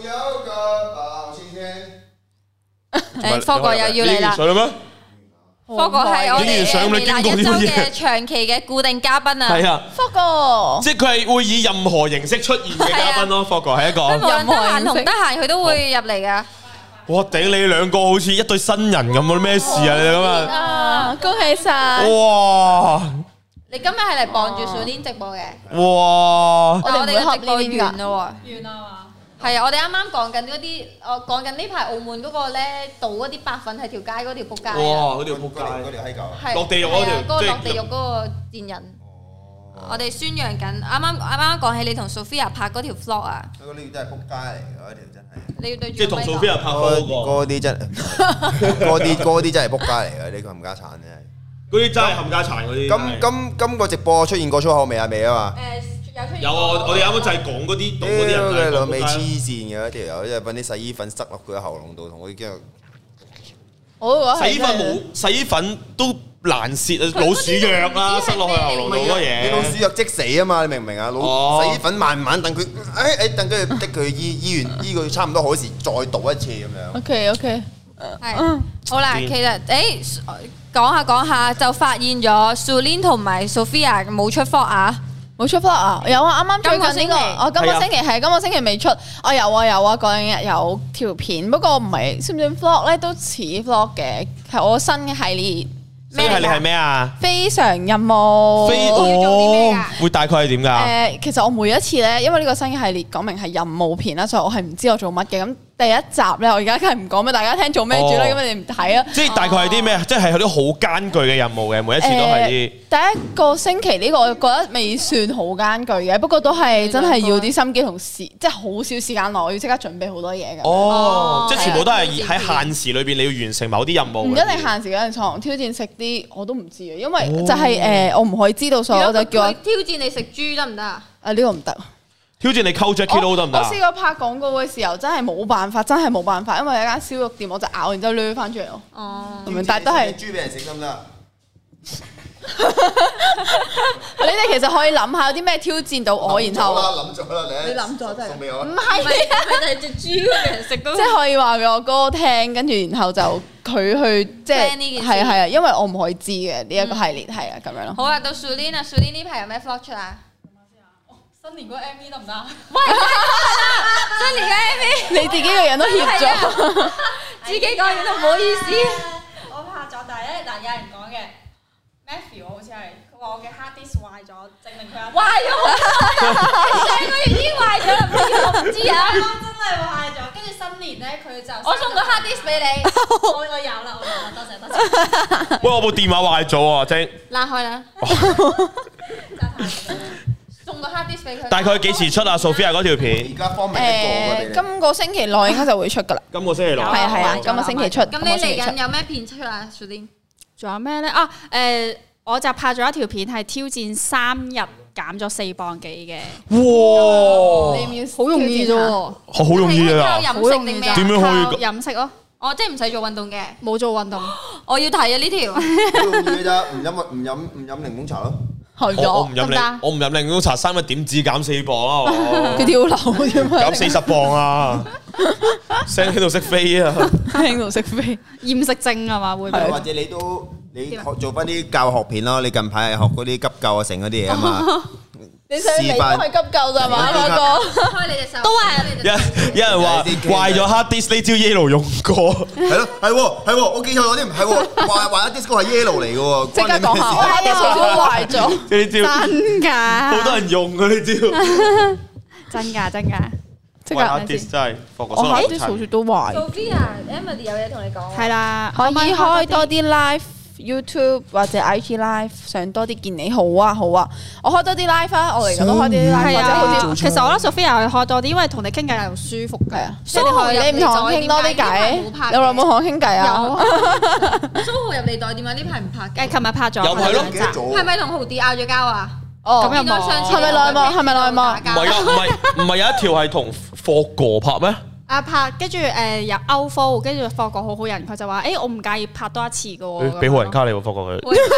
科哥又要嚟啦！科哥係我哋微辣一周嘅長期嘅固定嘉賓啊！ 係啊， 科哥， 即係佢係會以任何形式出現嘅嘉賓咯。科哥係一個任何形式同得閒佢都會入嚟噶。 哇！頂你兩個好似一對新人咁啊！咩事啊？你咁啊！恭喜晒！ 哇！ 你今日係嚟傍住上年直播嘅。 哇！ 我哋嘅直播完啦喎， 完啦嘛。 係啊，我哋啱啱講緊嗰啲，我講緊呢排澳門嗰個咧，倒嗰啲白粉喺條街嗰條仆街。 哇！嗰條仆街， 嗰條閪狗。 落地獄嗰條， 嗰個落地獄嗰個賤人。我哋宣揚緊，啱啱講起你同 Sophia 拍嗰條 vlog 啊。 嗰條真係仆街嚟㗎，嗰條真係。 你要對住。 即係同 Sophia 拍嗰啲真，嗰啲真係仆街嚟㗎，呢個冚家鏟真係。 嗰啲真係冚家鏟嗰啲。 今個直播出現過粗口未啊？未啊嘛。 有啊！我哋啱啱就係講嗰啲，嗰啲人就係老味黐線嘅嗰條友，即係揾啲洗衣粉塞落佢嘅喉嚨度，同佢驚。 洗衣粉都難泄啊！老鼠藥啦，塞落去喉嚨度嗰嘢。 你老鼠藥即死啊嘛！你明唔明啊？洗衣粉慢慢等佢，等佢逼佢醫院醫佢差唔多好時，再倒一次咁樣。 OK。 係好啦，其實講下就發現咗 Sulin 同埋 Sophia 冇出 vlog 啊。 冇出 vlog 啊！有啊，啱啱最近呢個，今個星期未出。我有啊，嗰兩日有條片，不過唔係算唔算 vlog 咧？都似 vlog 嘅，係我新嘅系列。 咩系列係咩啊？ 非常任務。 要做啲咩㗎？ 會大概係點㗎？ 其實我每一次咧，因為呢個新嘅系列講明係任務片啦，所以我係唔知我做乜嘅。咁第一集咧，我而家梗係唔講俾大家聽做咩住啦，咁你哋唔睇啊。 即係大概係啲咩？即係有啲好艱巨嘅任務嘅，每一次都係啲。 第一個星期呢個我覺得未算好艱巨嘅，不過都係真係要啲心機同即係好少時間內，我要即刻準備好多嘢嘅。 哦，即係全部都係喺限時裏邊，你要完成某啲任務。唔一定限時嘅，床挑戰食啲我都唔知啊，因為就係我唔可以知道，所以我就叫我挑戰你食豬得唔得啊？ 呢個唔得。 挑戰你溝 Jackie Lou 得唔得？ 我試過拍廣告嘅時候，真係冇辦法，因為有一間燒肉店，我就咬完之後掠翻出嚟咯。哦，但係都係豬俾人食得唔得？ 你哋其實可以諗下有啲咩挑戰到我，然後諗咗啦， 你諗咗真係送俾我。 唔係就係隻豬俾人食到， 即係可以話俾我哥聽，跟住然後就佢去即係係啊，因為我唔可以知嘅呢一個系列係啊咁樣咯。 好啊，到 Sulin 啊 ，Sulin 呢排有咩 vlog 出啊？ 新年嗰個 MV 得唔得？ 喂，新年嘅 MV， 你自己個人都怯咗， 自己個人都唔好意思。 我拍咗，但係咧嗱，有人講嘅 Matthew 好似係佢話我嘅 hard disk 壞咗，證明佢壞咗，上個月已經壞咗啦，我唔知啊。 真係壞咗，跟住新年咧佢就我送個 hard disk 俾你， 我有啦，多謝。 喂，我部電話壞咗啊，晶。 拉開啦。送個 hard disk 俾佢。 大概幾時出啊 ？Sophia 嗰條片？ 而家方明一個今個星期內應該就會出噶啦。 今個星期六。 係啊，今個星期出。 咁你嚟緊有咩片出啊 Sulin？ 仲有咩咧？啊我就拍咗一條片係挑戰3日減咗4磅幾嘅。 哇！ 好容易啫喎， 好容易啊！ 靠飲食定咩啊？ 點樣可以？ 飲食咯。 哦，即係唔使做運動嘅。 冇做運動。 我要睇啊呢條。 好容易嘅咋，唔飲檸檬茶咯。 我唔飲檸檬茶，3日點止減4磅啊！ 佢跳樓啫嘛， 減40磅啊！聲喺度識飛啊！ 喺度識飛， 厭食症係嘛會？ 或者你做翻啲教學片咯，你近排係學嗰啲急救啊，成嗰啲嘢啊嘛。 你上嚟都係急救咋嘛？嗰個開你隻手， 都係有人話壞咗 hard disk 呢招 Yellow 用過， 係咯，係我記錯咗啲，唔係喎，壞咗 disco 係 Yellow 嚟嘅喎， 即刻講下，我 hard disk 都壞咗， 呢招真㗎， 好多人用啊呢招， 真㗎， 即刻 hard disk 真係，我 hard disk 好似都壞。 Sophia，Emily 有嘢同你講。 係啦， 可以開多啲 live YouTube 或者 IG live 上多啲見你好啊，我開多啲 live 啊，我嚟緊都開啲 live 或者好啲。 其實我覺得 Sophia 可以開多啲，因為同你傾偈又舒服嘅。 即係你唔同我傾多啲偈，你耐冇同我傾偈啊？ 蘇豪入嚟袋電話呢排唔拍嘅， 琴日拍咗。 又係咯， 係咪同豪啲拗咗交啊？ 哦， 咁又冇。 係咪內幕？係咪內幕？ 唔係有一條係同霍哥拍咩？ 拍跟住入歐科，跟住霍哥好人，佢就話：我唔介意拍多一次嘅喎。 俾好人卡你喎，霍哥佢。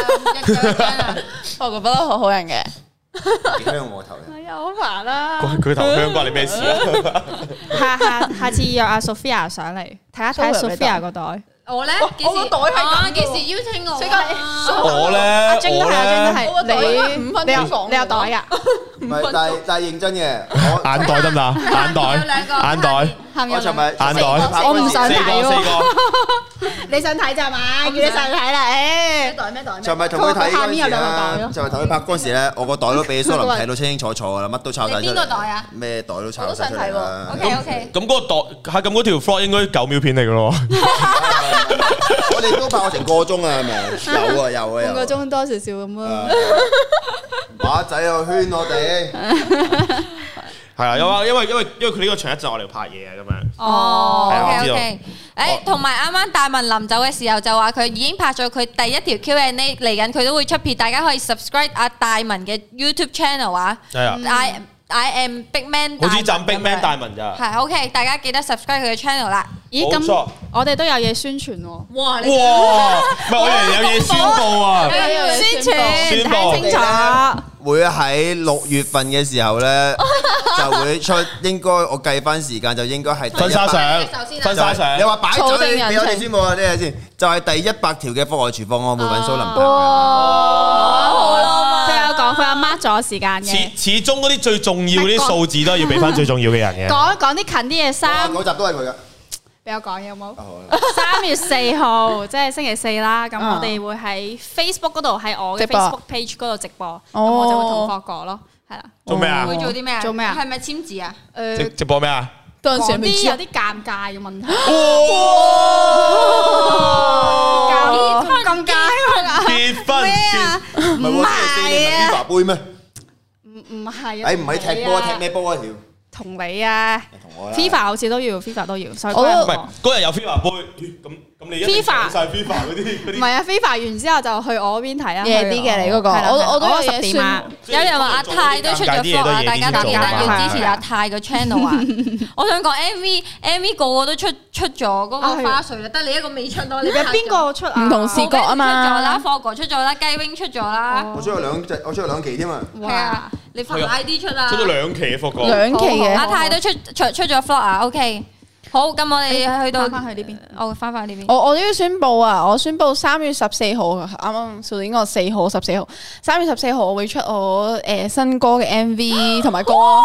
霍哥不嬲好人嘅。 香我頭嘅。 係啊，好煩啦。 佢頭香關你咩事啊？ 下次約阿 Sophia 上嚟睇下 Sophia 個袋。 我咧我個袋係咁， 幾時邀請我？ 我咧， 阿晶都係， 你5分鐘講， 你有袋㗎？ 唔係，但係認真嘅， 眼袋得唔得？眼袋。 我尋日眼袋， 我唔想睇喎。 四個。 你想睇咋嘛？叫你上睇啦， 咩袋？ 尋日同佢睇嗰陣時咧，就係同佢拍嗰陣時咧，我個袋都俾蘇林睇到清清楚楚噶啦，乜都抄晒出嚟。 邊個袋啊？ 咩袋都抄晒出嚟啦。 OK。 咁嗰個袋，咁嗰條 vlog 應該9秒片嚟噶咯。 我哋都拍我成個鐘啊，係咪？有啊。 半個鐘多少少咁咯。 馬仔又圈我哋。 係啊，因為佢呢個場一陣我嚟拍嘢啊，咁樣。 哦 ，OK OK。同埋啱啱大文臨走嘅時候就話佢已經拍咗佢第一條 Q&A 嚟緊，佢都會出片，大家可以 subscribe 阿大文嘅 YouTube channel 啊。 係啊。 I am Big Man。 好似站 Big Man 大文咋。 係 OK，大家記得 subscribe 佢嘅 channel 啦。 咦，咁我哋都有嘢宣傳喎。 哇！唔係我哋有嘢宣佈啊！ 宣傳睇清楚。 會喺6月份嘅時候咧，就會出。應該我計翻時間就應該係婚紗相。你話擺咗俾我哋宣佈啊！呢嘢先，就係第100條嘅課外廚房，我會揾蘇林拍。 哇！好啦嘛。 佢有講，佢有 mark 咗時間嘅。 始終嗰啲最重要嗰啲數字都係要俾翻最重要嘅人嘅。 講啲近啲嘢嗰集都係佢㗎。 俾我講有冇？3月4號，即係星期4啦。咁我哋會喺 Facebook 嗰度，喺我嘅 Facebook page 嗰度直播。咁我就會同霍哥咯，係啦。 做咩啊？ 會做啲咩啊？ 做咩啊？ 係咪簽字啊？ 直播咩啊？ 講啲有啲尷尬嘅問題。尷尬結婚咩啊？唔係啊？杯咩？ 唔係啊！ 唔係踢波，踢咩波啊？條同你啊，FIFA 好似都要，FIFA 都要，所以唔係嗰日有 FIFA 杯，咁你一定上晒 FIFA 嗰啲。 唔係啊，FIFA 完之後就去我嗰邊睇啊， 夜啲嘅你嗰個，我都有10點啊。 有人話阿泰都出咗 vlog 啊，大家記得要支持阿泰個 channel 啊！我想講 MV 個個都出咗嗰個花絮啦，得你一個未出咯。你邊個出啊？ 唔同視覺啊嘛。 出咗啦，霍哥出咗啦，雞 wing 出咗啦。 我出咗兩期添啊！ 係啊，你快啲出啦！ 出咗2期嘅霍哥。 2期嘅。 阿泰都出咗 vlog 啊 ，OK。好，咁我哋去到翻去呢邊， 我翻返去呢邊。 我都要宣布啊！我宣布3月14號，啱啱上年個4號、14號，3月14號我會出我新歌嘅 MV 同埋歌。我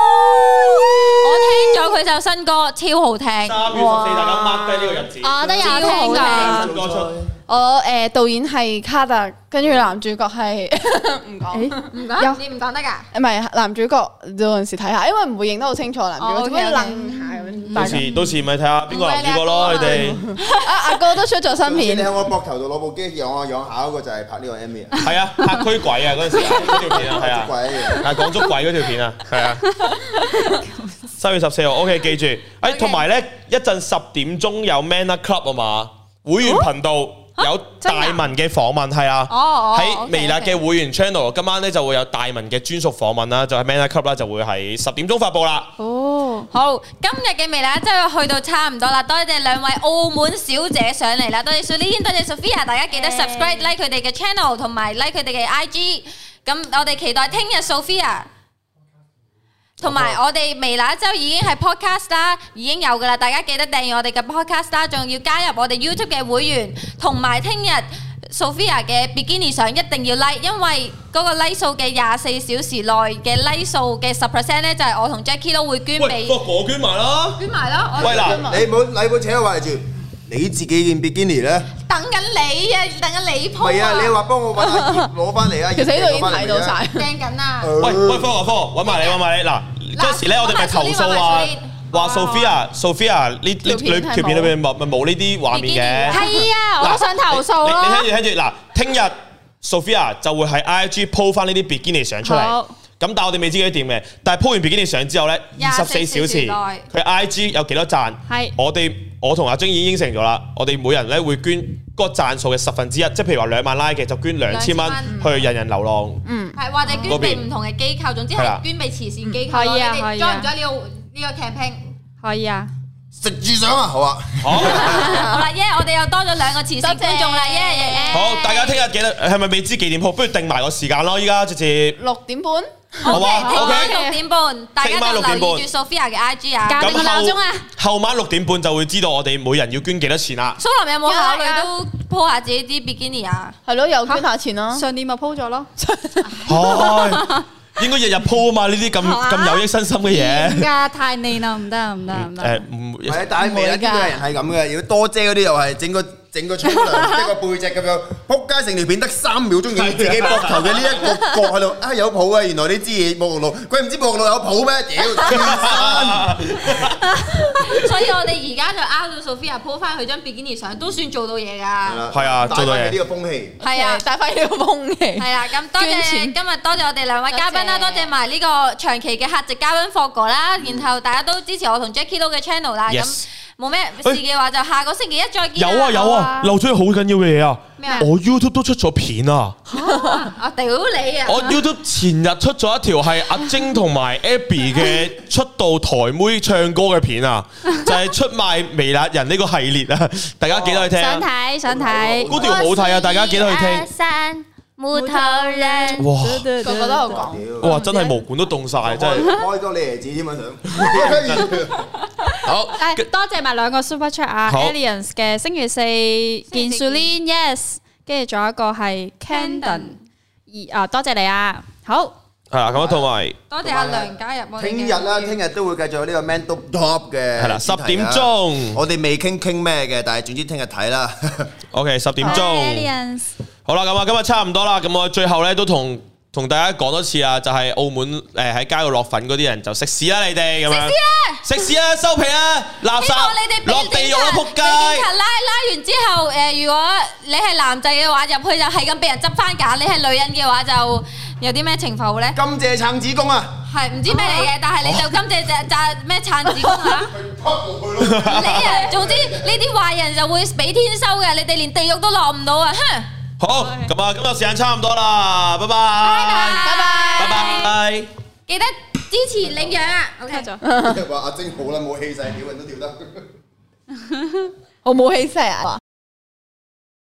聽咗佢首新歌，超好聽。3 月14，大家 mark 低呢個日子。 我都有聽㗎。 新歌出。 我導演係卡特，跟住男主角係唔講， 你唔講得㗎？ 唔係男主角有陣時睇下，因為唔會認得好清楚男主角，只會愣下咁。 到時咪睇下邊個男主角咯，你哋。 阿哥都出咗新片。 你喺我膊頭度攞部機養下嗰個就係拍呢個 MV 啊。 係啊，拍驅鬼啊嗰陣時嗰條片啊，係啊。係講捉鬼嗰條片啊，係啊。3月14號 OK 記住，同埋咧一陣10點鐘有 Manner Club 啊嘛，會員頻道。有大文嘅訪問係啊，喺微辣嘅會員 channel， 今晚咧就會有大文嘅專屬訪問啦，就係 Manner Club 啦，就會喺10點鐘發佈啦。 哦，好，今日嘅微辣真係去到差唔多啦，多謝兩位澳門小姐上嚟啦，多謝 Sulin， 多謝 Sophia， 大家記得 subscribe、like 佢哋嘅 channel 同埋 like 佢哋嘅 IG， 咁我哋期待聽日 Sophia。同埋我哋微辣一周已經係 podcast 啦，已經有噶啦，大家記得訂閱我哋嘅 podcast 啦，仲要加入我哋 YouTube 嘅會員，同埋聽日 Sophia 嘅 Bikini 相一定要 like， 因為嗰個 like 數嘅24小時內嘅 like 數嘅10% 咧，就係我同 Jackie 都會捐俾。 喂，我捐埋啦！ 捐埋咯！ 喂嗱，你冇扯我話住，你自己件 Bikini 咧？ 等緊你啊！等緊你 po 啊！ 係啊，你話幫我揾阿葉攞翻嚟啊！ 其實呢度已經睇到晒， 掟緊啊！ 喂，科揾埋你嗱。嗰陣時咧，我哋咪投訴話 Sophia 呢條片裏邊咪冇呢啲畫面嘅。 係啊，我都想投訴咯。 你聽住嗱，聽日 Sophia 就會喺 IG po 翻呢啲 Bikini 相出嚟。咁但係我哋未知佢點嘅。但係 po 完 Bikini 相之後咧，24小時佢 IG 有幾多讚？係我同阿晶已經應承咗啦。我哋每人咧會捐嗰個讚數嘅1/10，即係譬如話2萬 like 嘅就捐2000蚊去人人流浪。 係或者捐俾唔同嘅機構，總之係捐俾慈善機構。可以啊，可以啊。join 唔 join 呢個 campaign？可以啊。 食住相啊，好啊。好啦，我哋又多咗2個慈善觀眾啦， 好，大家聽日記得係咪未知幾點鋪？不如定埋個時間咯，依家直接 6點半。 好嘛 ？OK， 6點半，大家就留意住 Sophia 嘅 IG 啊，校定個鬧鐘啊。 後晚6點半就會知道我哋每人要捐幾多錢啦。 蘇林有冇考慮都 po 下自己啲 Bikini 啊？ 係咯，又捐下錢咯。 上年咪 po 咗咯。 應該日日 po 啊嘛，呢啲咁有益身心嘅嘢。 而家太膩啦，唔得。 唔係，但係微辣啲人係咁嘅，如果多姐嗰啲又係整個沖涼一個背脊咁樣，撲街成條片得3秒鐘，要自己膊頭嘅呢一個角喺度啊有譜啊！原來你知嘢沐浴露，佢唔知沐浴露有譜咩？屌！ 所以我哋而家就拗到 Sophia po 翻佢張 Bikini 相，都算做到嘢㗎。 係啊，做到嘢。 呢個風氣。 係啊， 帶翻呢個風氣。 係啦，咁多謝今日多謝我哋2位嘉賓啦，多謝埋呢個長期嘅客席嘉賓霍哥啦，然後大家都支持我同 Jackie Lou 嘅 channel 啦，咁。冇咩事嘅話，就下個星期一再見。 有啊，漏咗好緊要嘅嘢啊！我 YouTube 都出咗片啊！ 我屌你啊！ 我 YouTube 前日出咗一條係阿晶同埋 Abby 嘅出道台妹唱歌嘅片啊，就係出賣微辣人呢個系列啊！大家記得去聽。想睇。嗰條好睇啊！大家記得去聽。木頭人，哇， 個個都有講， 哇，真係毛管都凍晒，真係開多你兒子添啊想。 好， 多謝埋2個 Super Chat 啊 ，Aliens 嘅星期4見 Sulin Yes， 跟住仲有一個係 Candon， 多謝你啊，好， 係啦，咁同埋多謝阿梁加入我哋。 聽日都會繼續有呢個 Man Top 嘅， 係啦，10點鐘， 我哋未傾咩嘅，但係總之聽日睇啦。 OK， 10點鐘。好啦，咁啊，今日差唔多啦，咁我最後咧都同大家講多次啊，就係澳門喺街度落粉嗰啲人就食屎啦，你哋咁樣食屎啦，收皮啦，垃圾落地獄啦，仆街！ 拉完之後，如果你係男仔嘅話，入去就係咁俾人執翻架；你係女人嘅話就有啲咩情況咧？ 甘蔗撐子宮啊！ 係唔知咩嚟嘅，但係你就甘蔗就咩撐子宮啊？你啊，總之呢啲壞人就會俾天收嘅，你哋連地獄都落唔到啊！哼！ 好，咁啊，今日時間差唔多啦，拜拜，拜拜， 記得支持領養啊 ！OK 咗。 話阿晶好啦，冇氣勢，屌人都屌得。 我冇氣勢啊！